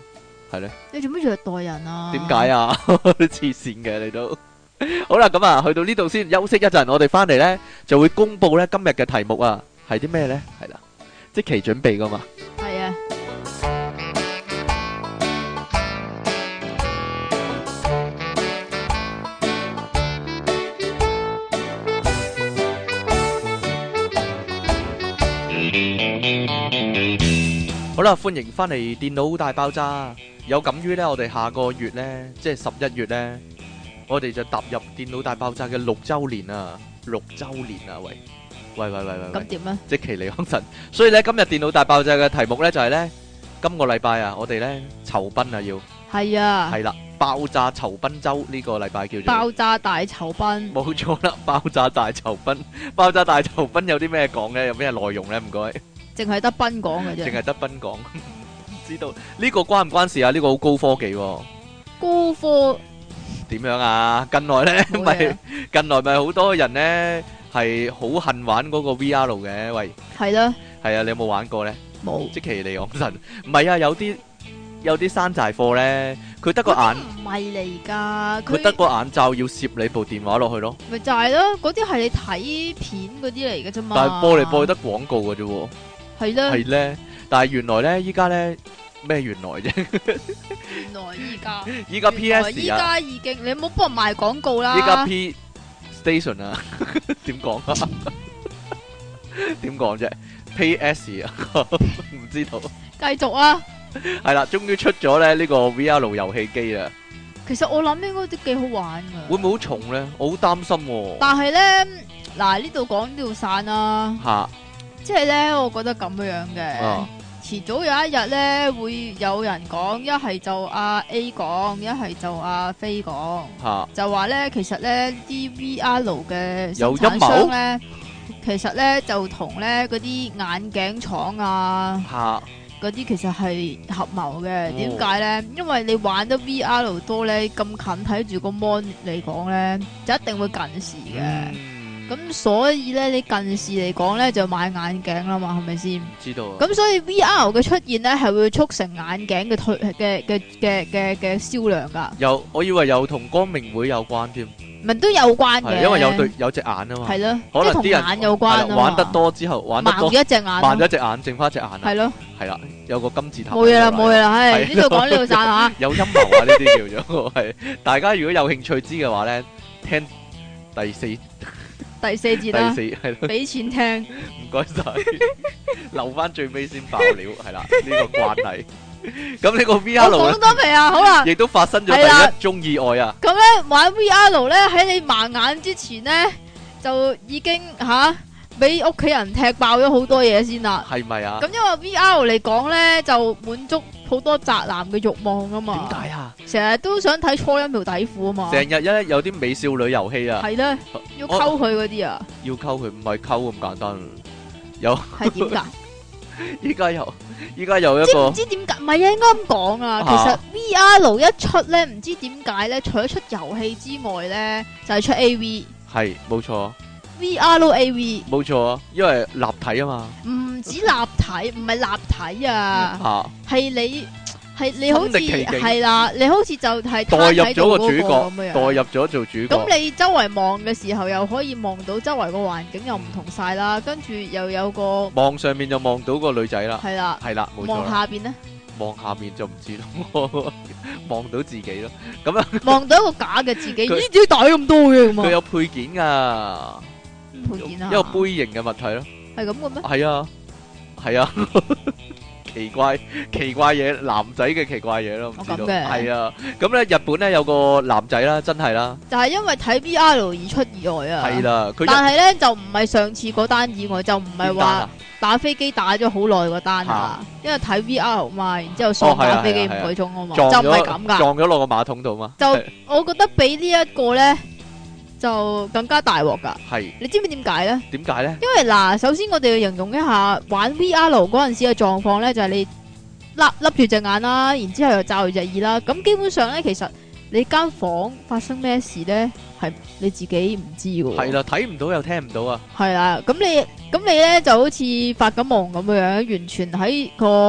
係咧。 你做乜虐待人啊？ 點解啊？黐線嘅你都。好啦，咁啊，去到呢度先休息一陣，我哋翻嚟咧就會公布咧今日嘅題目啊，係啲咩咧？係啦，即期準備噶嘛。 係啊。 好啦，歡迎翻嚟《電腦大爆炸》。有感於呢，我哋下個月呢，即係11月呢，我哋就踏入《電腦大爆炸》嘅6周年啊！6周年啊！喂！ 咁點啊？ 積淇離岸神。所以呢，今日《電腦大爆炸》嘅題目呢，就係呢：今個禮拜啊，我哋呢酬賓啊要。 係啊。係啦，爆炸酬賓周呢個禮拜叫做。 爆炸大酬賓。冇錯啦，爆炸大酬賓。爆炸大酬賓有啲咩講呢？有咩內容呢？唔該。 淨係得賓講嘅啫， 淨係得賓講，唔知道呢個關唔關事啊？呢個好高科技喎， 高科點樣啊？近來咧咪好多人咧係好恨玩嗰個 VR 嘅，喂，係啦，係啊，你有冇玩過咧？冇，積淇離岸神，唔係啊，有啲山寨貨咧，佢得個眼， 唔係嚟噶， 佢得個眼罩要攝你部電話落去咯， 咪就係咯，嗰啲係你睇片嗰啲嚟嘅啫嘛， 但係播嚟播去得廣告嘅啫。 係咧，係咧，但係原來咧，依家咧咩原來啫？ 原來依家 PS 啊， 依家已經你冇幫人賣廣告啦。 依家 P Station 啊，點講啊？點講啫 ？PS 啊，唔知道。 繼續啊！ 係啦，終於出咗咧呢個 VR 遊戲機啦。 其實我諗應該都幾好玩噶。 會唔會好重咧？我好擔心喎。 但係咧，嗱呢度講呢度散啦。吓。即係咧，我覺得咁樣嘅，遲早有一日咧，會有人講，一係就阿 A 講，一係就阿飛講，就話咧，其實咧啲 VR 嘅生產商咧，其實咧就同咧嗰啲眼鏡廠啊，嗰啲其實係合謀嘅。點解咧？因為你玩得 VR 多咧，咁近睇住個 mon 嚟講咧，就一定會近視嘅。咁所以咧，你近視嚟講咧，就買眼鏡啦嘛，係咪先？知道。咁所以 VR 嘅出現咧，係會促成眼鏡嘅銷量噶。 我以為有同光明會有關添。咪都有關嘅， 因為有隻眼啊嘛。係咯， 可能啲人眼有關啊嘛。 玩得多之後，玩得多盲咗一隻眼， 盲咗一隻眼，剩翻一隻眼。係咯，係啦，有個金字塔。冇嘢啦， 冇嘢啦，係呢度講呢度散吓。 有陰謀啊！呢啲叫做係，大家如果有興趣知嘅話咧，聽第四節啦，係咯，俾錢聽，唔該晒，留翻最尾先爆料，係啦，呢個慣例。咁呢個 VR 我講多未啊？好啦， 亦都發生咗第一宗意外啊！ 咁咧玩 VR 咧喺你盲眼之前咧，就已經俾屋企人踢爆咗好多嘢先啦。係咪啊？咁因為 VR 嚟講咧，就滿足好多宅男嘅慾望啊嘛。點解啊？成日都想睇初音條底褲啊嘛。成日有啲美少女遊戲啊。係咧，要溝佢嗰啲啊。要溝佢唔係溝咁簡單，有係點解？依家有一個，唔知點解，唔係啊，應該咁講啊。其實 VR 一出咧，唔知點解咧，除咗出遊戲之外咧，就係出 AV。係，冇錯。VR AV 冇錯啊，因為立體啊嘛。唔止立體，唔係立體啊，係你好似係啦，你好似就係代入咗個主角，代入咗做主角。咁你周圍望嘅時候，又可以望到周圍個環境又唔同晒啦，跟住又有個望上面就望到個女仔啦。係啦，係啦，冇錯。望下邊咧？望下面就唔知咯，望到自己咯。咁啊，望到一個假嘅自己，呢啲大咁多嘅嘛。佢有配件噶。一個杯型嘅物體咯，係咁嘅咩？係啊，係啊，奇怪嘢，男仔嘅奇怪嘢咯，唔知道。係啊，咁咧日本咧有個男仔啦，真係啦，就係因為睇 VR 而出意外啊。係啦，但係咧就唔係上次嗰單意外，就唔係話打飛機打咗好耐嗰單啊，因為睇 VR 嘛，然之後喪打飛機5個鐘啊嘛，就唔係咁噶，撞咗落個馬桶度嘛。就我覺得比呢一個咧。就更加大鑊噶，係你知唔知點解咧？點解咧？因為嗱，首先我哋要形容一下玩 VR 嗰陣時嘅狀況咧，就係你笠住隻眼啦，然之後又罩住隻耳啦。咁基本上咧，其實你間房發生咩事咧，係你自己唔知嘅。係啦，睇唔到又聽唔到啊。係啦，咁你咧就好似發緊夢咁樣，完全喺個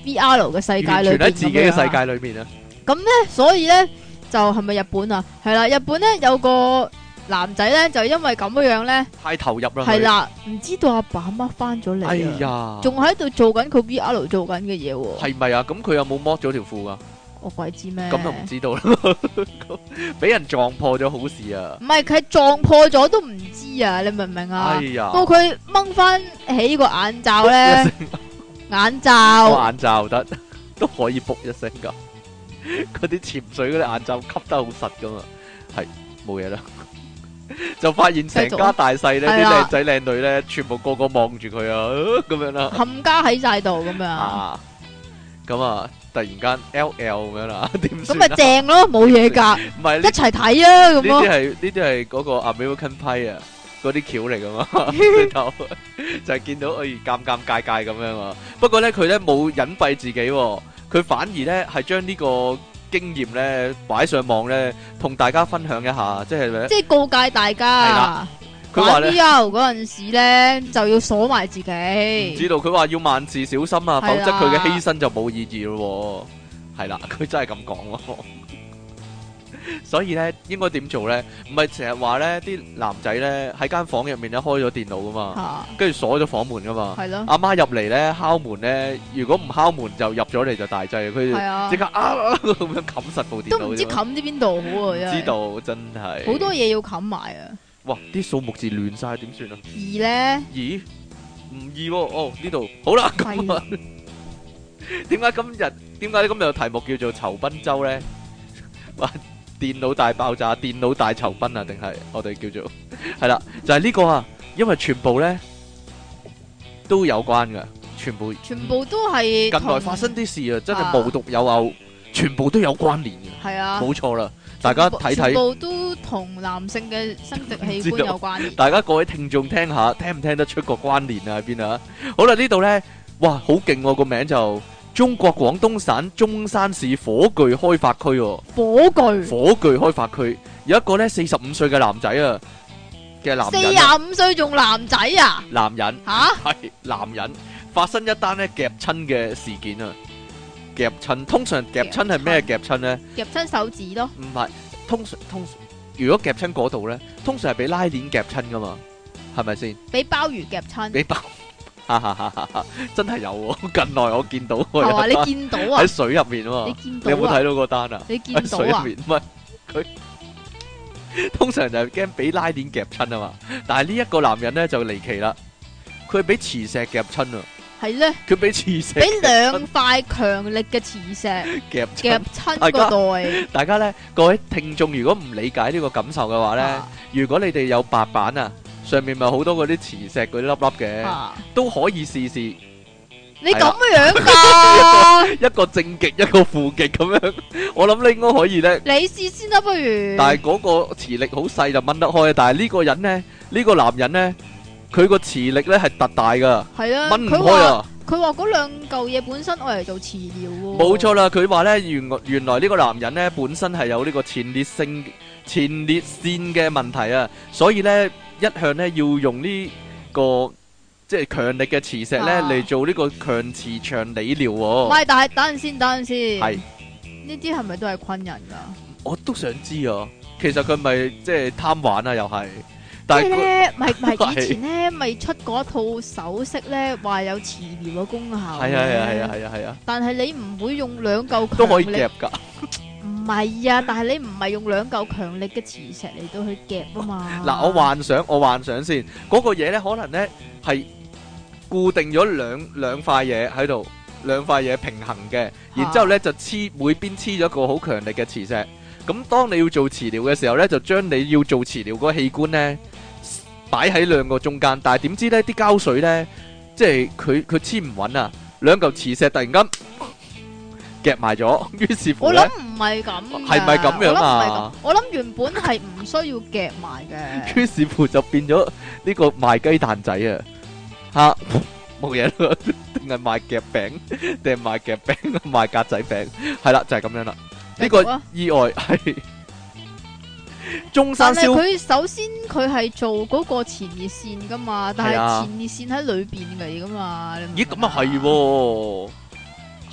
VR 嘅世界裏邊，完全喺自己嘅世界裏面啊。 咁咧，所以咧就係咪日本啊？係啦，日本咧有個男仔咧就因為咁樣咧太投入啦， 係啦，唔知道阿爸阿媽翻咗嚟，哎呀，仲喺度做緊佢 VR 做緊嘅嘢喎。 係咪啊？咁佢有冇剝咗條褲噶？ 我鬼知咩？ 咁就唔知道啦。俾人撞破咗好事啊！ 唔係佢撞破咗都唔知啊！你明唔明啊？ 哎呀， 到佢掹翻起個眼罩咧，眼罩得都可以卜一聲噶。嗰啲潛水嗰啲眼罩吸得好實噶嘛，係冇嘢啦。就發現成家大細咧，啲靚仔靚女咧，全部個個望住佢啊，咁樣啦， 冚家喺晒度咁樣啊，咁啊，突然間 LL 咁樣啦，點算？ 咁咪正咯，冇嘢噶，唔係一齊睇啊，咁咯。 呢啲係嗰個 American Pie 啊，嗰啲橋嚟噶嘛，就係見到尷尷尬尬咁樣啊。不過咧，佢咧冇隱蔽自己，佢反而咧係將呢個經驗咧擺上網咧，同大家分享一下，即係告誡大家。佢話咧嗰陣時咧就要鎖埋自己。唔知道佢話要萬事小心啊，否則佢嘅犧牲就冇意義咯。係啦，佢真係咁講咯。所以咧，應該點做咧？唔係成日話咧，啲男仔咧喺間房入面咧開咗電腦噶嘛，跟住鎖咗房門噶嘛。係咯。阿媽入嚟咧敲門咧，如果唔敲門就入咗嚟就大劑，佢即刻咁樣冚實部電腦。 都唔知冚啲邊度好啊！ 知道真係好多嘢要冚埋啊！ 哇！啲數目字亂晒點算啊？ 二咧？ 咦？唔易喎！哦，呢度好啦。咁啊，點解今日嘅題目叫做酬賓周咧？哇！電腦大爆炸、電腦大酬賓啊？定係我哋叫做係啦，就係呢個啊！因為全部咧都有關噶，全部都係近來發生啲事啊！真係無獨有偶，全部都有關聯嘅。係啊，冇錯啦。大家睇睇， 全部都同男性嘅生殖器官有關聯。 大家各位聽眾聽下，聽唔聽得出個關聯啊？喺邊啊？好啦，呢度咧，哇，好勁喎！個名就中國廣東省中山市火炬開發區。火炬開發區有一個咧45歲嘅男仔啊嘅男人。 45歲仲男仔啊？ 男人吓係男人，發生一單咧夾親嘅事件啊！夾親，通常夾親係咩夾親咧？ 夾親手指咯。唔係，通常如果夾親嗰度咧，通常係俾拉鏈夾親噶嘛，係咪先？ 俾鮑魚夾親。 俾鮑，真係有喎！近來我見到。 係嘛？你見到啊？ 喺水入面喎。 你見到啊？ 你有冇睇到嗰單啊？ 你見到啊？ 喺水入面，唔係佢通常就係驚俾拉鏈夾親啊嘛，但係呢一個男人咧就離奇啦，佢係俾磁石夾親啊！ 係咧， 佢俾磁石， 俾2塊強力嘅磁石夾親個袋。 大家咧，各位聽眾，如果唔理解呢個感受嘅話咧，如果你哋有白板啊，上面咪好多嗰啲磁石嗰啲粒粒嘅，都可以試試。 你咁樣噶？ 一個正極，一個負極咁樣，我諗你應該可以咧。 你試先啦，不如。 但係嗰個磁力好細就掹得開，但係呢個人咧，呢個男人咧。佢個磁力咧係特大噶，係啊，掹唔開啊！ 佢話嗰2嚿嘢本身愛嚟做磁療喎。 冇錯啦，佢話咧原來呢個男人咧本身係有呢個前列腺嘅問題啊，所以咧一向咧要用呢個即係強力嘅磁石咧嚟做呢個強磁場理療。唔係， 但係等陣先， 係呢啲係咪都係昆人噶？ 我都想知啊，其實佢咪即係貪玩啊，又係。 即係咧，咪以前咧，咪出過一套首飾咧，話有磁療嘅功效。 係啊！ 但係你唔會用2嚿強力都可以夾噶。 唔係啊，但係你唔係用2嚿強力嘅磁石嚟到去夾啊嘛。 嗱，我幻想先，嗰個嘢咧可能咧係固定咗兩塊嘢喺度，2塊嘢平衡嘅，然之後咧就每邊黐咗一個好強力嘅磁石。咁當你要做磁療嘅時候咧，就將你要做磁療嗰個器官咧擺喺2個中間，但係點知咧啲膠水咧，即係佢黐唔穩啊，2嚿磁石突然間夾埋咗，於是乎咧， 我諗唔係咁， 係咪咁樣啊？ 我諗原本係唔需要夾埋嘅， 於是乎就變咗呢個賣雞蛋仔啊！吓，冇嘢啦，定係賣夾餅，定係賣夾餅，賣格仔餅，係啦，就係咁樣啦。呢個意外係中山燒，但係佢首先佢係做嗰個前列腺噶嘛，但係前列腺喺裏邊嚟噶嘛。咦， 咁啊係喎，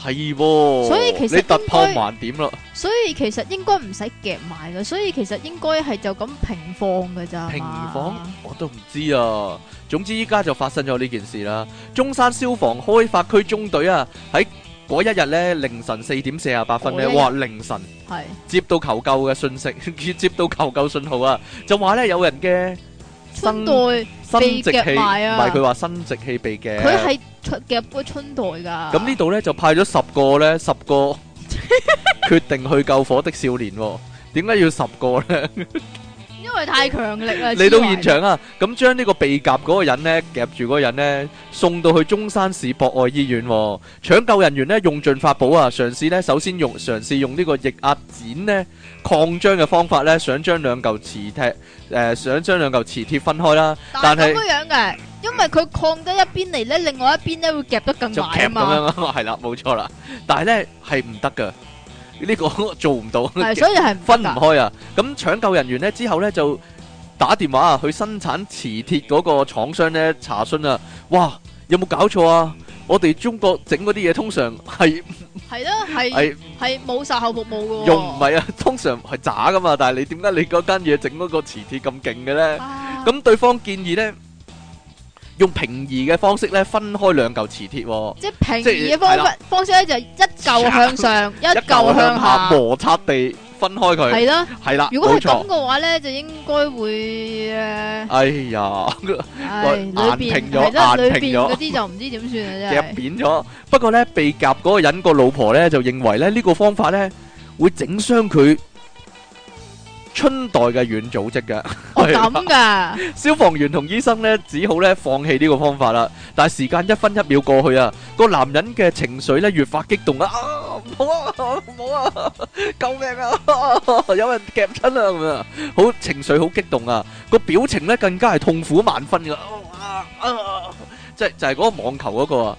係喎， 所以其實你突破盲點啦。 所以其實應該唔使夾埋嘅，所以其實應該係就咁平放嘅咋。 平放我都唔知啊。總之依家就發生咗呢件事啦。中山消防開發區中隊啊，喺嗰一日咧凌晨4點48分咧，哇凌晨係接到求救嘅信息，接到求救信號啊，就話咧有人嘅春袋被夾埋啊， 唔係佢話生殖器被夾， 佢係夾個春袋噶。 咁呢度咧就派咗10個決定去救火的少年，點解要10個咧？ 因為太強力啦！ 嚟到現場啊，咁將呢個被夾嗰個人呢，夾住嗰個人呢，送到去中山市博愛醫院。搶救人員呢，用盡法寶啊，嘗試呢，首先嘗試用呢個液壓剪呢擴張嘅方法呢，想將兩嚿磁鐵分開啦。但係咁樣嘅，因為佢擴得一邊嚟呢，另外一邊呢會夾得更埋啊嘛。 咁樣係啦，冇錯啦。但係呢係唔得噶。呢個做唔到， 所以係分唔開啊！咁搶救人員呢之後呢，就打電話啊去生產磁鐵嗰個廠商呢查詢啊，哇有冇搞錯啊？我哋中國整嗰啲嘢通常係冇售後服務嘅，用唔係啊，通常係渣噶嘛。但係你點解你嗰間嘢整嗰個磁鐵咁勁嘅呢？咁對方建議呢，用平移嘅方式咧，分開兩嚿磁鐵，即係平移嘅方式咧，就一嚿向上，一嚿向下，摩擦地分開佢。係啦，係啦。如果係咁嘅話咧，就應該會哎呀，硬平咗，硬平咗，嗰啲就唔知點算啦，真係夾扁咗。不過咧，被夾嗰個人個老婆咧就認為咧呢個方法咧會整傷佢春代嘅軟組織嘅，咁噶？消防員同醫生咧，只好咧放棄呢個方法啦。但係時間1分1秒過去啊，個男人嘅情緒咧越發激動啊！唔好啊，唔好啊，救命啊！有人夾親啊咁啊，好情緒好激動啊，個表情咧更加係痛苦萬分噶。就係嗰個網球嗰個啊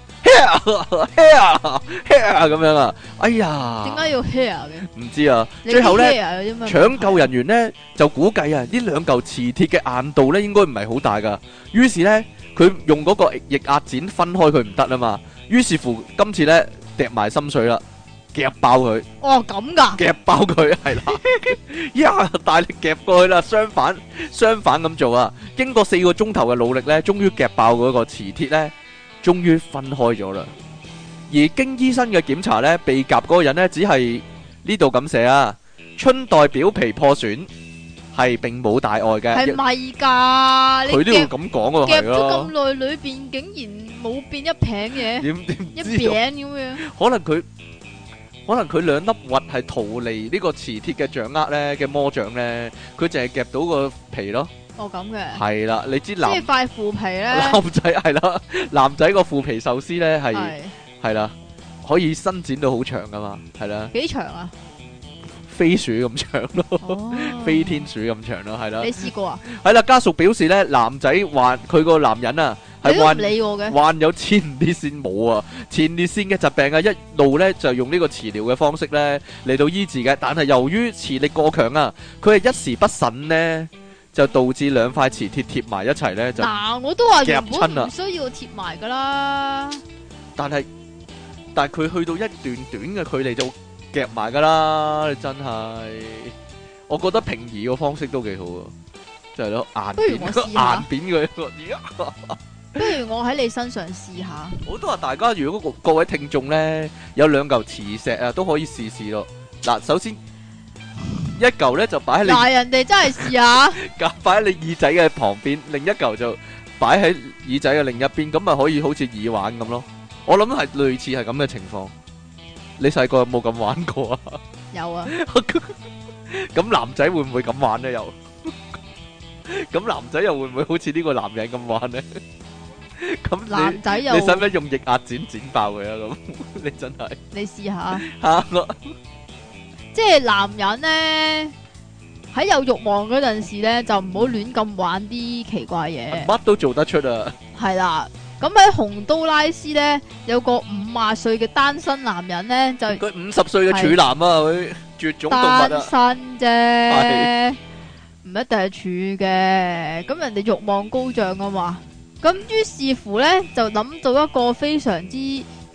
hair 咁樣啊，哎呀，點解要 hair 嘅？唔知啊。最後咧，搶救人員咧就估計啊，呢兩嚿磁鐵嘅硬度咧應該唔係好大噶。於是咧，佢用嗰個液壓剪分開佢唔得啊嘛。於是乎，今次咧揼埋心水啦，夾爆佢。哦，咁噶？夾爆佢係啦，呀，大力夾過去啦。相反咁做啊。經過4個鐘頭嘅努力咧，終於夾爆嗰個磁鐵咧。終於分開咗啦，而經醫生嘅檢查呢，被夾嗰個人呢，只係呢度咁寫啊，春代表皮破損，係並冇大礙嘅。係咪噶？佢都要咁講喎，夾咗咁耐，裏邊竟然冇變一餅嘅，一餅咁樣。可能佢兩粒核係逃離呢個磁鐵嘅掌握呢嘅魔掌呢，佢淨係夾到個皮咯。哦，咁嘅係啦，你知即係塊腐皮咧，男仔係啦，男仔個腐皮壽司咧係啦，可以伸展到好長噶嘛，係啦，幾長啊？飛鼠咁長咯，飛天鼠咁長咯，係啦。你試過啊？係啦，家屬表示咧，男仔患佢個男人啊，係患有前列腺冇啊，前列腺嘅疾病啊，一路咧就用呢個磁療嘅方式咧嚟到醫治嘅，但係由於磁力過強啊，佢係一時不慎咧。就導致兩塊磁鐵貼埋一齊咧，就我都話原本唔需要貼埋噶啦。但係佢去到一段短嘅距離就夾埋噶啦，真係。我覺得平移個方式都幾好啊，就係咯，硬扁佢。不如我喺你身上試下。我都話大家如果各位聽眾咧有兩嚿磁石啊，都可以試試咯。嗱，首先。一嚿咧就擺喺你，嗱人哋真係試下，擺喺你耳仔嘅旁邊，另一嚿就擺喺耳仔嘅另一邊，咁咪可以好似耳環咁咯。我諗係類似係咁嘅情況。你細個有冇咁玩過啊？有啊。咁男仔會唔會咁玩咧？又咁男仔又會唔會好似呢個男人咁玩咧？咁男仔又你使唔使用液壓剪爆佢啊？咁你真係你試下吓我。即係男人咧喺有慾望嗰陣時咧，就唔好亂咁玩啲奇怪嘢。乜都做得出啊！係啦，咁喺洪都拉斯咧有個50歲嘅單身男人咧，就佢50歲嘅處男啊，佢絕種動物啊，單身啫，唔一定係處嘅。咁人哋慾望高漲啊嘛，咁於是乎咧就諗到一個非常之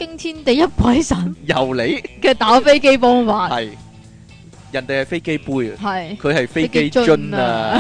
驚天地泣鬼神由你嘅打飛機方法係，人哋係飛機杯啊， 係佢係飛機樽啊，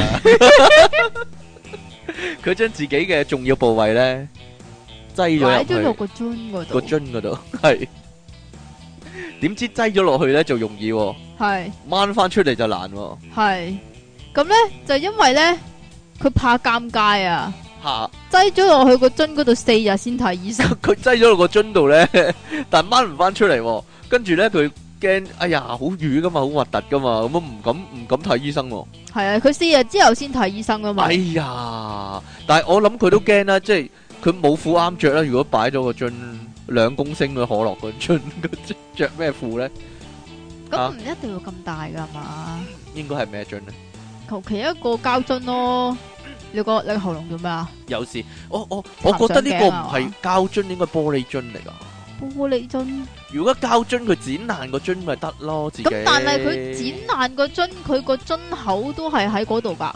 佢將自己嘅重要部位咧擠咗入去個樽嗰度， 個樽嗰度係，點知擠咗落去咧就容易，係掹翻出嚟就難， 係咁咧就因為咧佢怕尷尬啊。 吓， 擠咗落去個樽嗰度4日先睇醫生。 佢擠咗落個樽度咧，但掹唔翻出嚟，跟住咧佢驚，哎呀，好瘀噶嘛，好核突噶嘛，咁唔敢睇醫生。 係啊，佢4日之後先睇醫生噶嘛。 哎呀，但係我諗佢都驚啦，即係佢冇褲啱着啦。如果擺咗個樽2公升嘅可樂個樽，着咩褲咧？ 咁唔一定要咁大噶嘛？ 應該係咩樽咧？ 求其一個膠樽咯。你個喉嚨做咩啊？ 有時我覺得呢個唔係膠樽，應該玻璃樽嚟噶。 玻璃樽？如果膠樽佢剪爛個樽咪得咯，自己。 咁但係佢剪爛個樽，佢個樽口都係喺嗰度噶。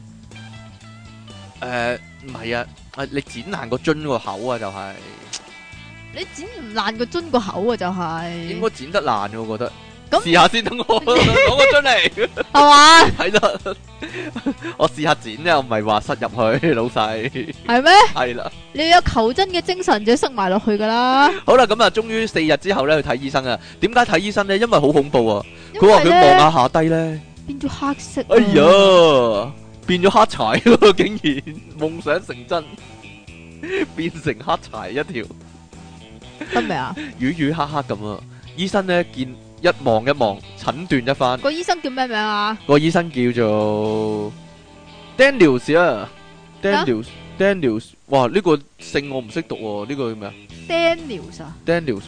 唔係啊，你剪爛個樽個口啊，就係。 你剪唔爛個樽個口啊，就係。應該剪得爛嘅，我覺得。試下先，等我攞個樽嚟， 係嘛？ 係啦，我試下剪咧，我唔係話塞入去，老細。 係咩？ 係啦， 你有求真嘅精神就塞埋落去噶啦。 好啦，咁啊，終於4日之後咧去睇醫生啊。點解睇醫生咧？因為好恐怖啊！佢話佢望下低咧，變咗黑色。哎呀，變咗黑柴咯！竟然夢想成真，變成黑柴一條， 得未啊？ 瘀瘀黑黑咁啊！醫生咧見。一望一望，診斷一番。 個醫生叫咩名啊？ 個醫生叫做 Daniels 啊 ，Daniels。哇，呢個姓我唔識讀喎，呢個叫咩啊 ？Daniels 啊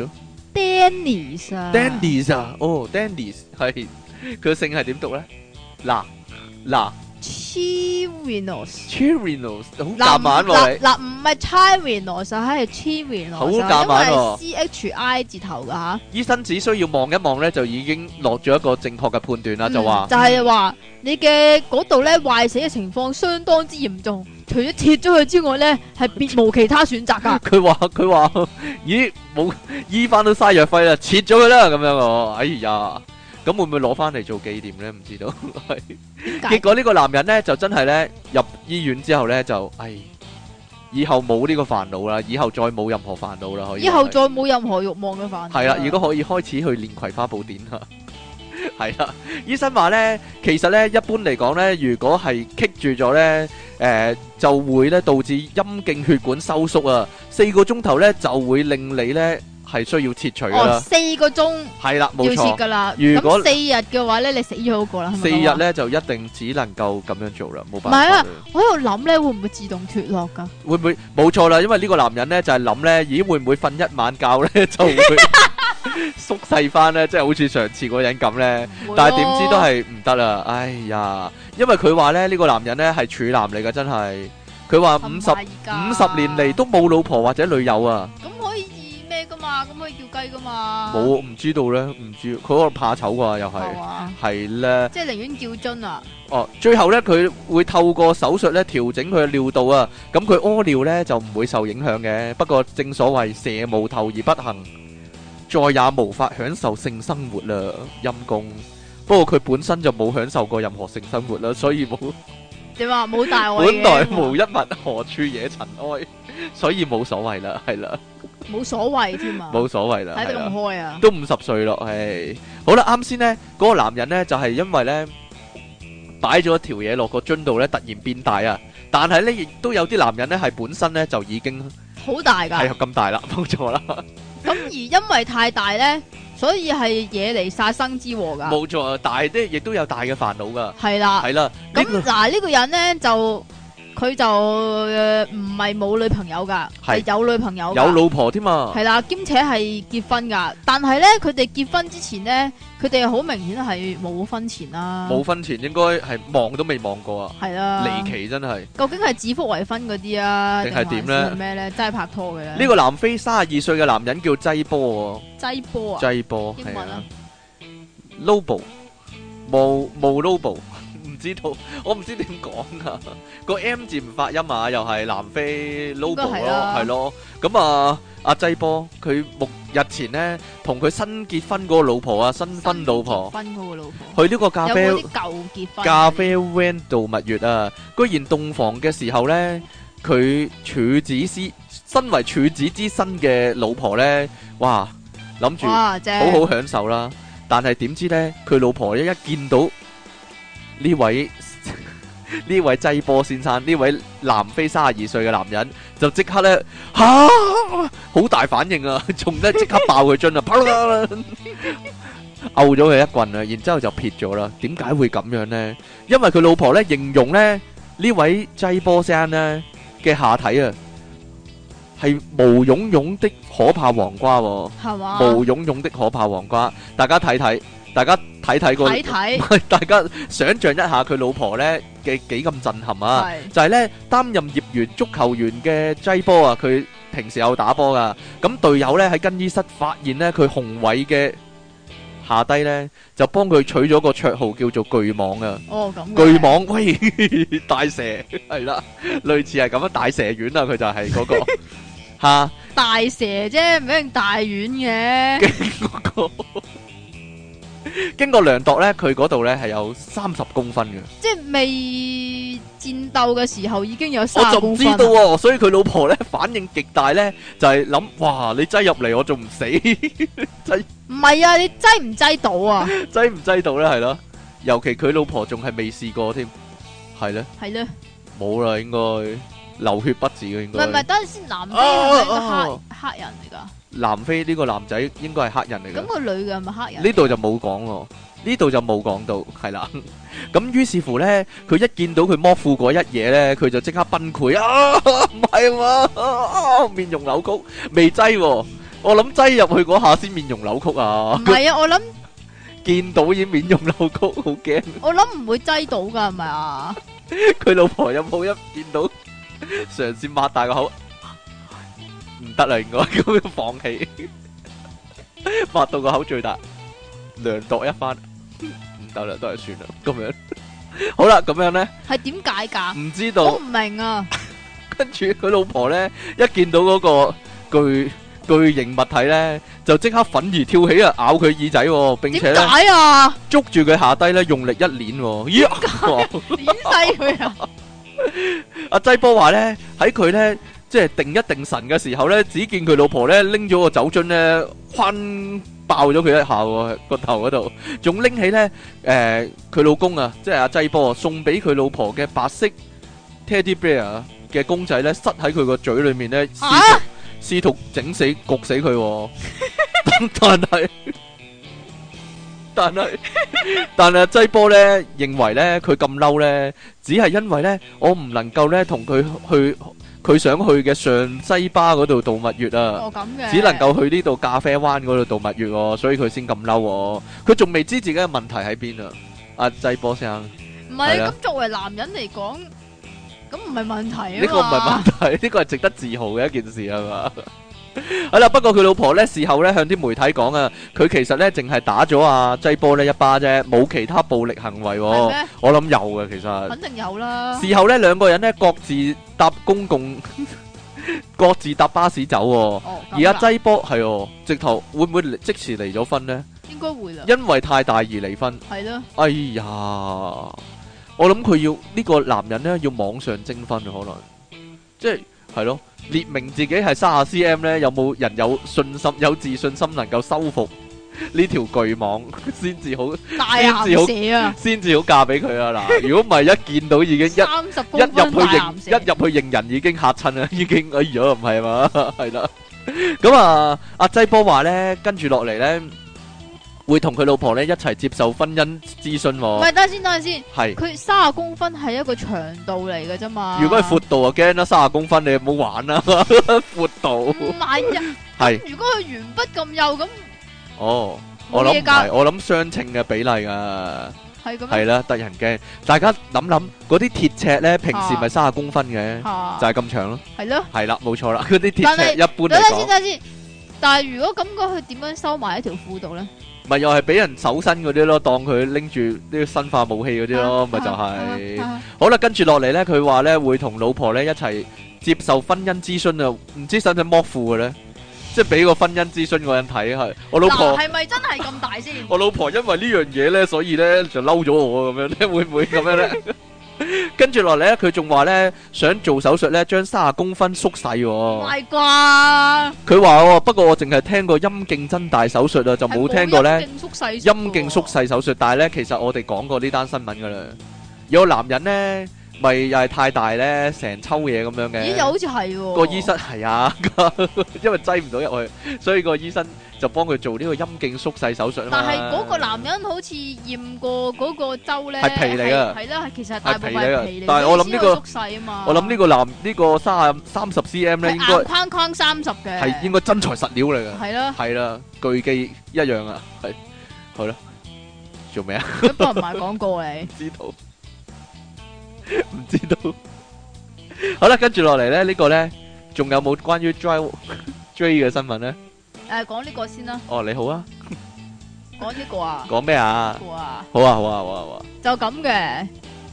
？Daniels 啊 ？Daniels 啊？哦 ，Daniels 係佢個姓係點讀咧？嗱。 Chirinos 好夾硬喎， 嗱唔係 Chirinos 係 Chirinos， 好夾硬喎， 因為 CHI 字頭噶吓。 醫生只需要望一望咧，就已經落咗一個正確嘅判斷啦，就係話你嘅嗰度咧壞死嘅情況相當之嚴重，除咗切咗佢之外咧，係別無其他選擇噶。佢話，咦，冇醫翻都嘥藥費啦，切咗佢啦咁樣喎，哎呀！咁會唔會攞翻嚟做紀念咧？唔知道。結果呢個男人咧就真係咧入醫院之後咧就，以後冇呢個煩惱啦，以後再冇任何煩惱啦，可以。 以後再冇任何慾望嘅煩惱。係啦， 如果可以開始去練葵花寶典啦。係啦，醫生話咧，其實咧一般嚟講咧，如果係棘住咗咧，就會咧導致陰莖血管收縮啊，4個鐘頭咧就會令你咧。係需要切除噶啦 ，4個鐘係啦，冇錯， 要切噶啦。如果4日嘅話咧，你死咗嗰個啦。 4日咧就一定只能夠咁樣做啦，冇辦法。 唔係啊，我喺度諗咧，會唔會自動脫落噶？ 會唔會冇錯啦？因為呢個男人咧就係諗咧，咦會唔會瞓一晚覺咧就會縮細翻咧？即係好似上次嗰人咁咧。但係點知都係唔得啦！哎呀，因為佢話咧呢個男人咧係處男嚟噶，真係。佢話50年嚟都冇老婆或者女友啊。 噶嘛，咁可以叫雞噶嘛？ 冇，唔知道咧，唔知佢可能怕醜啩，又係係咧， 即係寧願叫樽啊！ 哦，最後咧佢會透過手術咧調整佢嘅尿道啊，咁佢屙尿咧就唔會受影響嘅。不過正所謂蛇無頭而不行，再也無法享受性生活啦，陰公。不過佢本身就冇享受過任何性生活啦，所以冇點話冇大礙嘅。 本來無一物，何處惹塵埃，所以冇所謂啦，係啦。 冇所謂添啊！ 冇所謂啦， 睇得咁開啊！ 都50歲咯，唉，好啦，啱先咧，嗰個男人咧就係因為咧擺咗條嘢落個樽度咧，突然變大啊！但係咧，亦都有啲男人咧係本身咧就已經好大噶， 係咁大啦，冇錯啦。 咁而因為太大咧，所以係惹嚟殺生之禍噶。 冇錯，大啲亦都有大嘅煩惱噶。 係啦， 係啦。 咁嗱呢個人咧就。佢就唔係冇女朋友噶，係有女朋友， 有老婆添嘛。 係啦，兼且係結婚噶。但係咧，佢哋結婚之前咧，佢哋好明顯係冇婚前啦。冇婚前應該係望都未望過啊。 係啦， 離奇真係。 究竟係指腹為婚嗰啲啊， 定係點咧？ 係咩咧？真係拍拖嘅咧。 呢個南非32歲嘅男人叫濟波喎。 濟波啊？ 濟波英文啊 ？Lobo 冇 Lobo。知道我唔知點講啊，個 M 字唔發音啊，又係南非 Lobo 咯，係咯。咁啊，阿濟波佢日前呢，同佢新結婚嗰個老婆啊，新婚老婆，去呢個咖啡有冇啲舊結婚咖啡 van 度蜜月啊！居然洞房嘅時候呢，佢身為處子之身嘅老婆呢，哇，諗住好好享受啦。但係點知呢，佢老婆一見到呢位濟波先生，呢位南非32歲嘅男人，就即刻咧好大反應啊，仲咧即刻爆佢樽啊，啪啦毆咗佢一棍啊，然之後就撇咗啦。點解會咁樣呢？因為佢老婆咧形容咧呢位濟波生咧嘅下體啊係毛茸茸的可怕黃瓜，係嘛？毛茸茸的可怕黃瓜，大家睇睇。大家睇個，大家想象一下佢老婆咧嘅幾咁震撼啊！就係咧擔任業餘足球員嘅濟波啊，佢平時有打波噶。咁隊友咧喺更衣室發現咧佢雄偉嘅下低咧，就幫佢取咗個綽號叫做巨蟒啊！ 哦，咁巨蟒，喂，大蛇係啦，類似係咁樣，大蛇丸啊，佢就係嗰個吓大蛇啫，唔一定大丸嘅。 經過量度咧，佢嗰度咧係有30公分嘅， 即係未戰鬥嘅時候已經有30公分。 我就唔知道喎，所以佢老婆咧反應極大咧，就係諗，哇，你擠入嚟我仲唔死？ 唔係啊，你擠唔擠到啊？ 擠唔擠到咧？係咯，尤其佢老婆仲係未試過添，係咧， 係咧， 冇啦，應該流血不止嘅，應該。 唔係，等陣先，南非係咪一個黑人嚟噶？ 南非呢個男仔應該係黑人嚟嘅。 咁個女嘅係咪黑人？ 呢度就冇講喎，呢度就冇講到，係啦。咁於是乎咧，佢一見到佢剝褲嗰一嘢咧，佢就即刻崩潰啊！唔係嘛，面容扭曲，未擠喎，我諗擠入去嗰下先面容扭曲啊！ 唔係啊，我諗見到已經面容扭曲，好驚。 我諗唔會擠到噶，係咪啊？ 佢老婆有冇一見到嘗試擘大個口？唔得啦，應該咁樣放棄，擘到個口最大，量度一番，唔得啦，都係算啦，咁樣。好啦，咁樣咧係點解噶？唔知道， 我唔明啊。 跟住佢老婆咧，一見到嗰個巨型物體咧，就即刻憤而跳起啊，咬佢耳仔，並且咧捉住佢下低咧，用力一捻，咦？ 捻細佢啊！ 阿濟波話咧，喺佢咧。即係定一定神嘅時候咧，只見佢老婆咧拎咗個酒樽咧，轟爆咗佢一下喎，個頭嗰度，仲拎起咧佢老公啊，即係阿濟波送俾佢老婆嘅白色 Teddy Bear 嘅公仔咧，塞喺佢個嘴裏面咧，試圖整死焗死佢，但係濟波咧認為咧佢咁嬲咧，只係因為咧我唔能夠咧同佢去。佢想去嘅上西巴嗰度度蜜月啊，只能夠去呢度咖啡灣嗰度度蜜月喎，所以佢先咁嬲。佢仲未知自己嘅問題喺邊啊！阿濟波生， 唔係咁作為男人嚟講，咁唔係問題啊嘛。 呢個唔係問題，呢個係值得自豪嘅一件事係嘛？係啦，不過佢老婆咧事後咧向啲媒體講啊，佢其實咧淨係打咗阿濟波呢一巴啫，冇其他暴力行為。我諗有嘅，其實肯定有啦。 事後咧兩個人咧各自搭各自搭巴士走。而阿濟波係直頭會唔會即時離咗婚呢？ 應該會啦， 因為太大而離婚。 係咯。 哎呀，我諗佢要呢個男人咧要網上徵婚可能，即係咯。列明自己係30 cm 咧，有冇人有信心、有自信心能夠收服呢條巨蟒先至好， 大鹹蛇啊， 先至好嫁俾佢啊！嗱，如果唔係一見到已經 30公分一入去認人已經嚇親啦，已經哎呀唔係嘛，係啦。咁啊，阿濟波話咧，跟住落嚟咧。會同佢老婆咧一齊接受婚姻諮詢。 唔係，等陣先。 係佢30公分係一個長度嚟嘅啫嘛。 如果係闊度啊，驚啦，30公分你唔好玩啦，闊度。 唔係啊。係。如果佢鉛筆咁幼咁。 哦，我諗唔係，我諗相稱嘅比例噶。係咁。係啦，得人驚。大家諗諗，嗰啲鐵尺咧，平時咪30公分嘅，就係咁長咯。係咯。係啦，冇錯啦，嗰啲鐵尺一般嚟講。等先。 但係如果咁講，佢點樣收埋喺條褲度咧？ 咪又係俾人搜身嗰啲咯，當佢拎住呢啲生化武器嗰啲咯，咪就係。好啦，跟住落嚟咧，佢話咧會同老婆咧一齊接受婚姻諮詢啊，唔知使唔使剝褲嘅咧？ 即係俾個婚姻諮詢嗰人睇，係我老婆係咪真係咁大先？ 我老婆因為呢樣嘢咧，所以咧就嬲咗我咁樣咧，會唔會咁樣咧？跟住落嚟咧，佢仲話咧想做手術咧，將30公分縮細。唔係啩？ 佢話不過我淨係聽過陰莖增大手術啊，就冇聽過咧陰莖縮細手術。但係咧，其實我哋講過呢單新聞噶啦，有個男人咧。咪又係太大咧，成抽嘢咁樣嘅。 咦，又好似係喎。 個醫生係啊，因為擠唔到入去，所以個醫生就幫佢做呢個陰莖縮細手術啊嘛。 但係嗰個男人好似驗過嗰個周咧， 係皮嚟噶。 係啦，其實係大部分係皮嚟。 但係我諗呢個縮細啊嘛。 我諗呢個呢個30 cm 咧，應該硬框框30嘅。 係應該真材實料嚟噶。 係咯。 係啦，巨記一樣啊，係，好啦，做咩啊？ 不過唔係廣告嚟。 知道。唔知道，好啦，跟住落嚟咧，呢個咧，仲有冇關於 Dray 嘅新聞咧？ 講呢個先啦。 哦，你好啊。 講呢個啊？ 講咩啊？ 好啊， 好啊，好啊，好啊，好啊。 就咁嘅。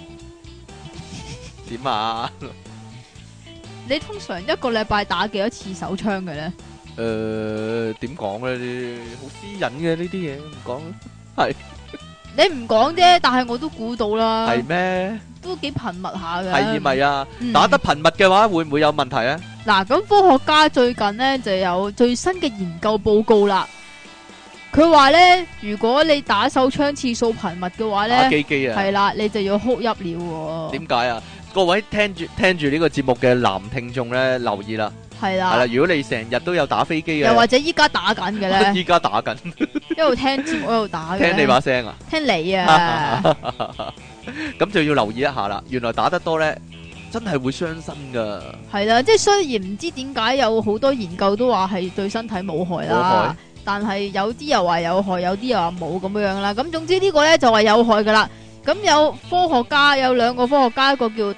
點啊？ 你通常一個禮拜打幾多次手槍嘅咧？ 點講咧？啲好私隱嘅呢啲嘢，唔講。係。 你唔講啫，但係我都估到啦。 係咩？ 都幾頻密下嘅。 係咪啊？打得頻密嘅話，會唔會有問題啊？ 嗱，咁科學家最近呢就有最新嘅研究報告啦。佢話呢，如果你打手槍次數頻密嘅話呢， 打機機啊， 係啦，你就要哭泣了。 點解啊？各位聽住呢個節目嘅男聽眾咧，留意啦。係啦，係啦。如果你成日都有打飛機嘅， 又或者依家打緊嘅咧， 依家打緊， 一路聽節目一路打嘅， 聽你把聲啊， 聽你啊， 咁就要留意一下啦。原來打得多咧，真係會傷身噶。係啦，即係雖然唔知點解有好多研究都話係對身體冇害啦，但係有啲又話有害，有啲又話冇咁樣啦。咁總之呢個咧就話有害噶啦。咁有科學家有兩個科學家，一個叫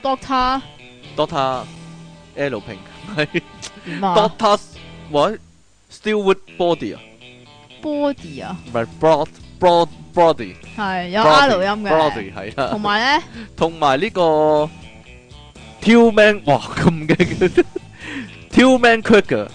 Doctor L 平係 Doctor what Stewart Body 啊 ，Body 啊， 唔係 Body 係有 R 音嘅 Body 係啦，同埋呢個 Tillman 哇咁嘅 Tillman Cracker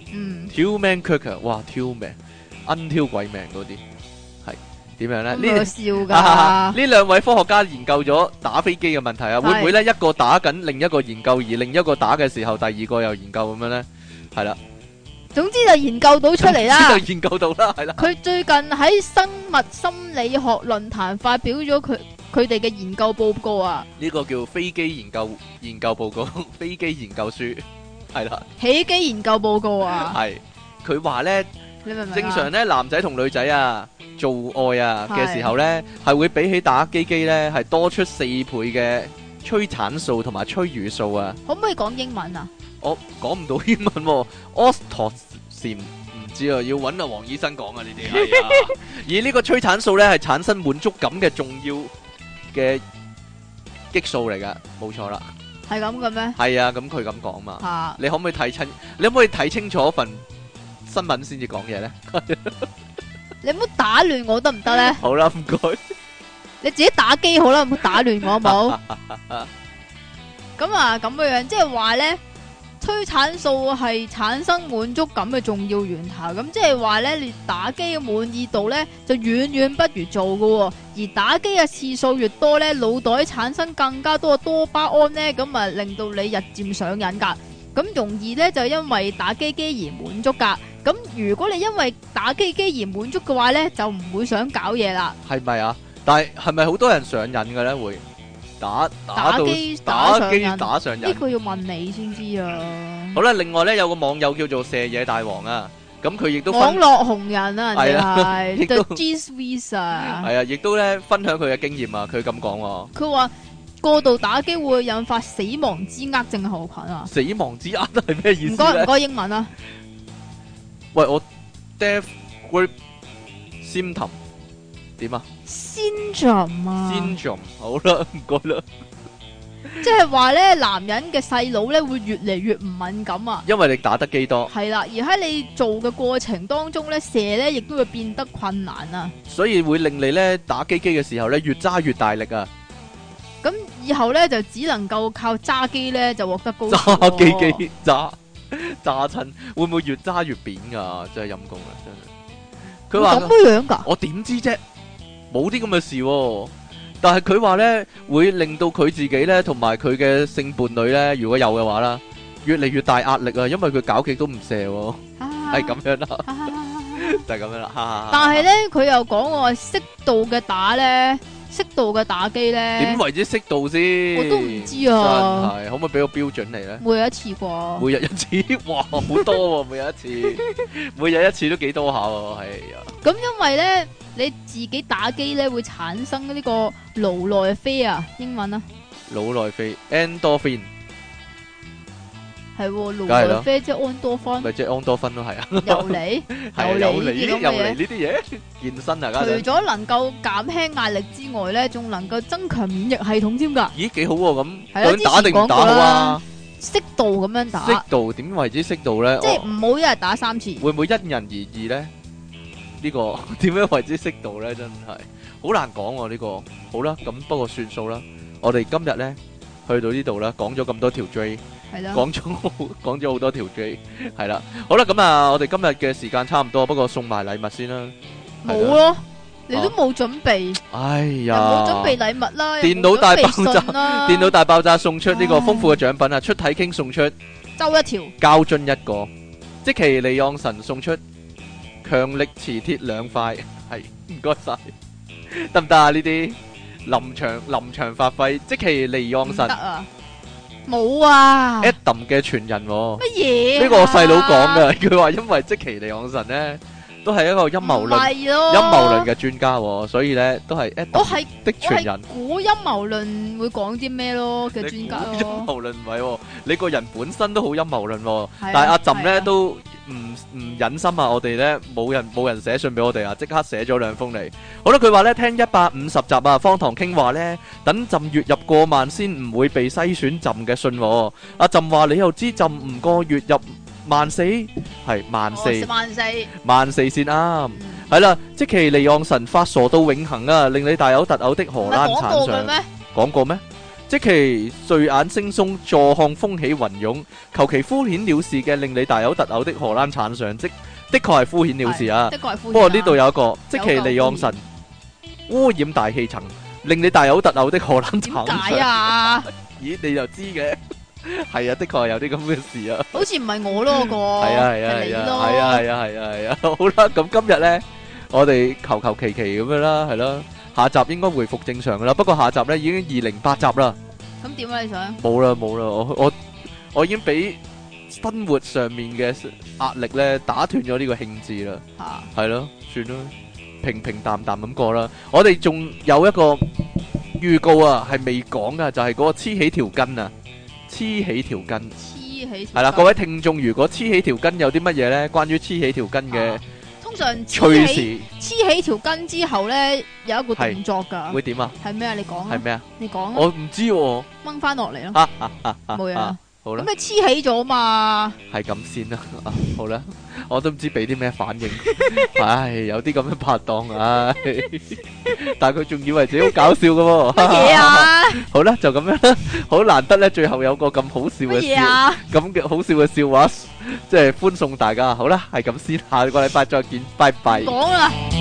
Tillman Cracker 哇 Tillman 挑鬼命嗰啲。點樣咧？ 呢笑噶呢兩位科學家研究咗打飛機嘅問題啊，會唔會咧一個打緊，另一個研究，而另一個打嘅時候，第二個又研究咁樣咧？係啦， 總之就研究到出嚟啦。 就研究到啦，係啦。 佢最近喺生物心理學論壇發表咗佢哋嘅研究報告啊。 呢個叫飛機研究報告，飛機研究書係啦。 起機研究報告啊。 係佢話咧，正常咧男仔同女仔啊。做愛啊嘅時候咧，係會比起打機機咧，係多出4倍嘅催產素同埋催乳素啊！ 可唔可以講英文啊？ 我講唔到英文喎，Oxytocin唔知啊，要揾阿黃醫生講啊呢啲係啊。而呢個催產素咧係產生滿足感嘅重要嘅激素嚟噶，冇錯啦。 係咁嘅咩？ 係啊，咁佢咁講嘛。你可唔可以睇清楚份新聞先至講嘢咧？ 你唔好打亂我得唔得咧？ 好啦，唔該。 你自己打機好啦，唔好打亂我好冇？咁啊，咁嘅樣，即係話咧，催產素係產生滿足感嘅重要源頭。咁即係話咧，你打機嘅滿意度咧就遠遠不如做噶。而打機嘅次數越多咧，腦袋產生更加多嘅多巴胺咧，咁啊令到你日漸上癮噶。咁容易咧就因為打機機而滿足噶。咁如果你因為打機機而滿足嘅話咧，就唔會想搞嘢啦。係咪啊？但係係咪好多人上癮嘅咧？會打機打上癮？ 呢個要問你先知啊。 好啦，另外咧有個網友叫做射野大王啊，咁佢亦都網絡紅人啊，人哋係 The G Swiss 啊。 係啊，亦都咧分享佢嘅經驗啊。佢咁講， 佢話過度打機會引發死亡之厄症候群啊。死亡之厄係咩意思？ 唔該英文啊。 喂，我 Death Grip Symptom 點啊 ？Syndrome 啊 ？Syndrome 好啦，唔該啦。 即係話咧，男人嘅細佬咧會越嚟越唔敏感啊。 因為你打得機多。 係啦，而喺你做嘅過程當中咧，射咧亦都會變得困難啊。 所以會令你咧打機機嘅時候咧越揸越大力啊。 咁以後咧就只能夠靠揸機咧就獲得高潮。 揸機機揸。 揸親會唔會越揸越扁噶？真係陰公啦，真係。佢話咁樣噶？ 我點知啫？冇啲咁嘅事喎。但係佢話咧會令到佢自己咧同埋佢嘅性伴侶咧，如果有嘅話啦，越嚟越大壓力啊，因為佢搞極都唔射喎，係咁樣啦，就係咁樣啦。 但係咧，佢又講話適度嘅打咧。適度嘅打機咧， 點為之適度先？ 我都唔知啊。 真係，可唔可以俾個標準嚟咧？ 每日一次啩？ 每日一次，哇，好多喎！每日一次，每日一次都幾多下喎？係啊。咁因為咧，你自己打機咧會產生呢個腦內啡啊，英文啊。 腦內啡 endorphin。 係腦內啡即係安多芬， 咪即係安多芬咯，係啊， 又嚟呢啲嘢，健身啊， 除咗能夠減輕壓力之外咧，仲能夠增強免疫系統添噶。 咦，幾好喎！咁想打定唔打好啊？ 適度咁樣打。 適度點為之適度咧？ 即係唔好一日打3次。 會唔會因人而異咧？呢個點樣為之適度咧？真係好難講喎呢個。好啦，咁不過算數啦。我哋今日咧去到呢度啦，講咗咁多條 J。講咗好多條 J， 係啦，好啦，咁啊，我哋今日嘅時間差唔多，不過送埋禮物先啦。 冇咯，你都冇準備。 哎呀， 冇準備禮物啦。 電腦大爆炸，電腦大爆炸送出呢個豐富嘅獎品啊！出體 king 送出周一條膠樽一個，積淇離岸神送出強力磁鐵2塊，係唔該晒，得唔得啊？呢啲臨場發揮，積淇離岸神。 冇啊 Adam 嘅傳人乜嘢？ 呢個我細佬講嘅，佢話因為積淇離岸神咧都係一個陰謀論嘅專家，所以咧都係 Adam 的傳人。 估陰謀論會講啲咩咯嘅專家咯？ 陰謀論唔係，你個人本身都好陰謀論，但係阿朕咧都唔忍心啊！我哋咧冇人寫信俾我哋啊，即刻寫咗2封嚟。好啦，佢話咧聽150集啊，方唐傾話咧等朕月入過萬先唔會被篩選朕嘅信。阿朕話你又知朕唔過月入14,000係14,000先啱。係啦，積淇離岸神發傻到永恆啊，令你大嘔特嘔的荷蘭產相講過咩？積淇睡眼惺忪，坐看風起雲湧，求其敷衍了事嘅令你大嘔特嘔的荷蘭產相，的確係敷衍了事啊。不過呢度有一個積淇離岸神污染大氣層，令你大嘔特嘔的荷蘭產相。點解啊？咦，你就知嘅？係啊，的確係有啲咁嘅事啊。好似唔係我咯，個係啊。好啦，咁今日咧，我哋求其咁樣啦，係咯。下集應該回復正常噶啦，不過下集咧已經208集啦。咁點啊？你想？冇啦，我已經俾生活上面嘅壓力咧打斷咗呢個興致啦。係咯，算啦，平平淡淡咁過啦。我哋仲有一個預告啊，係未講噶，就係嗰個黐起條筋啊，黐起條筋。係啦，各位聽眾，如果黐起條筋有啲乜嘢咧？關於黐起條筋嘅。通常黐起條筋之後咧，有一個動作噶，會點啊？係咩啊？你講啊？係咩啊？你講啊？我唔知喎，掹翻落嚟咯。冇嘢。好啦。咁你黐起咗嘛？係咁先啦。好啦，我都唔知俾啲咩反應。唉，有啲咁嘅拍檔，唉，但係佢仲以為自己好搞笑噶喎。乜嘢啊？好啦，就咁樣啦。好難得咧，最後有個咁好笑嘅笑，咁嘅好笑嘅笑話，即係歡送大家。好啦，係咁先，下個禮拜再見，拜拜。講啦。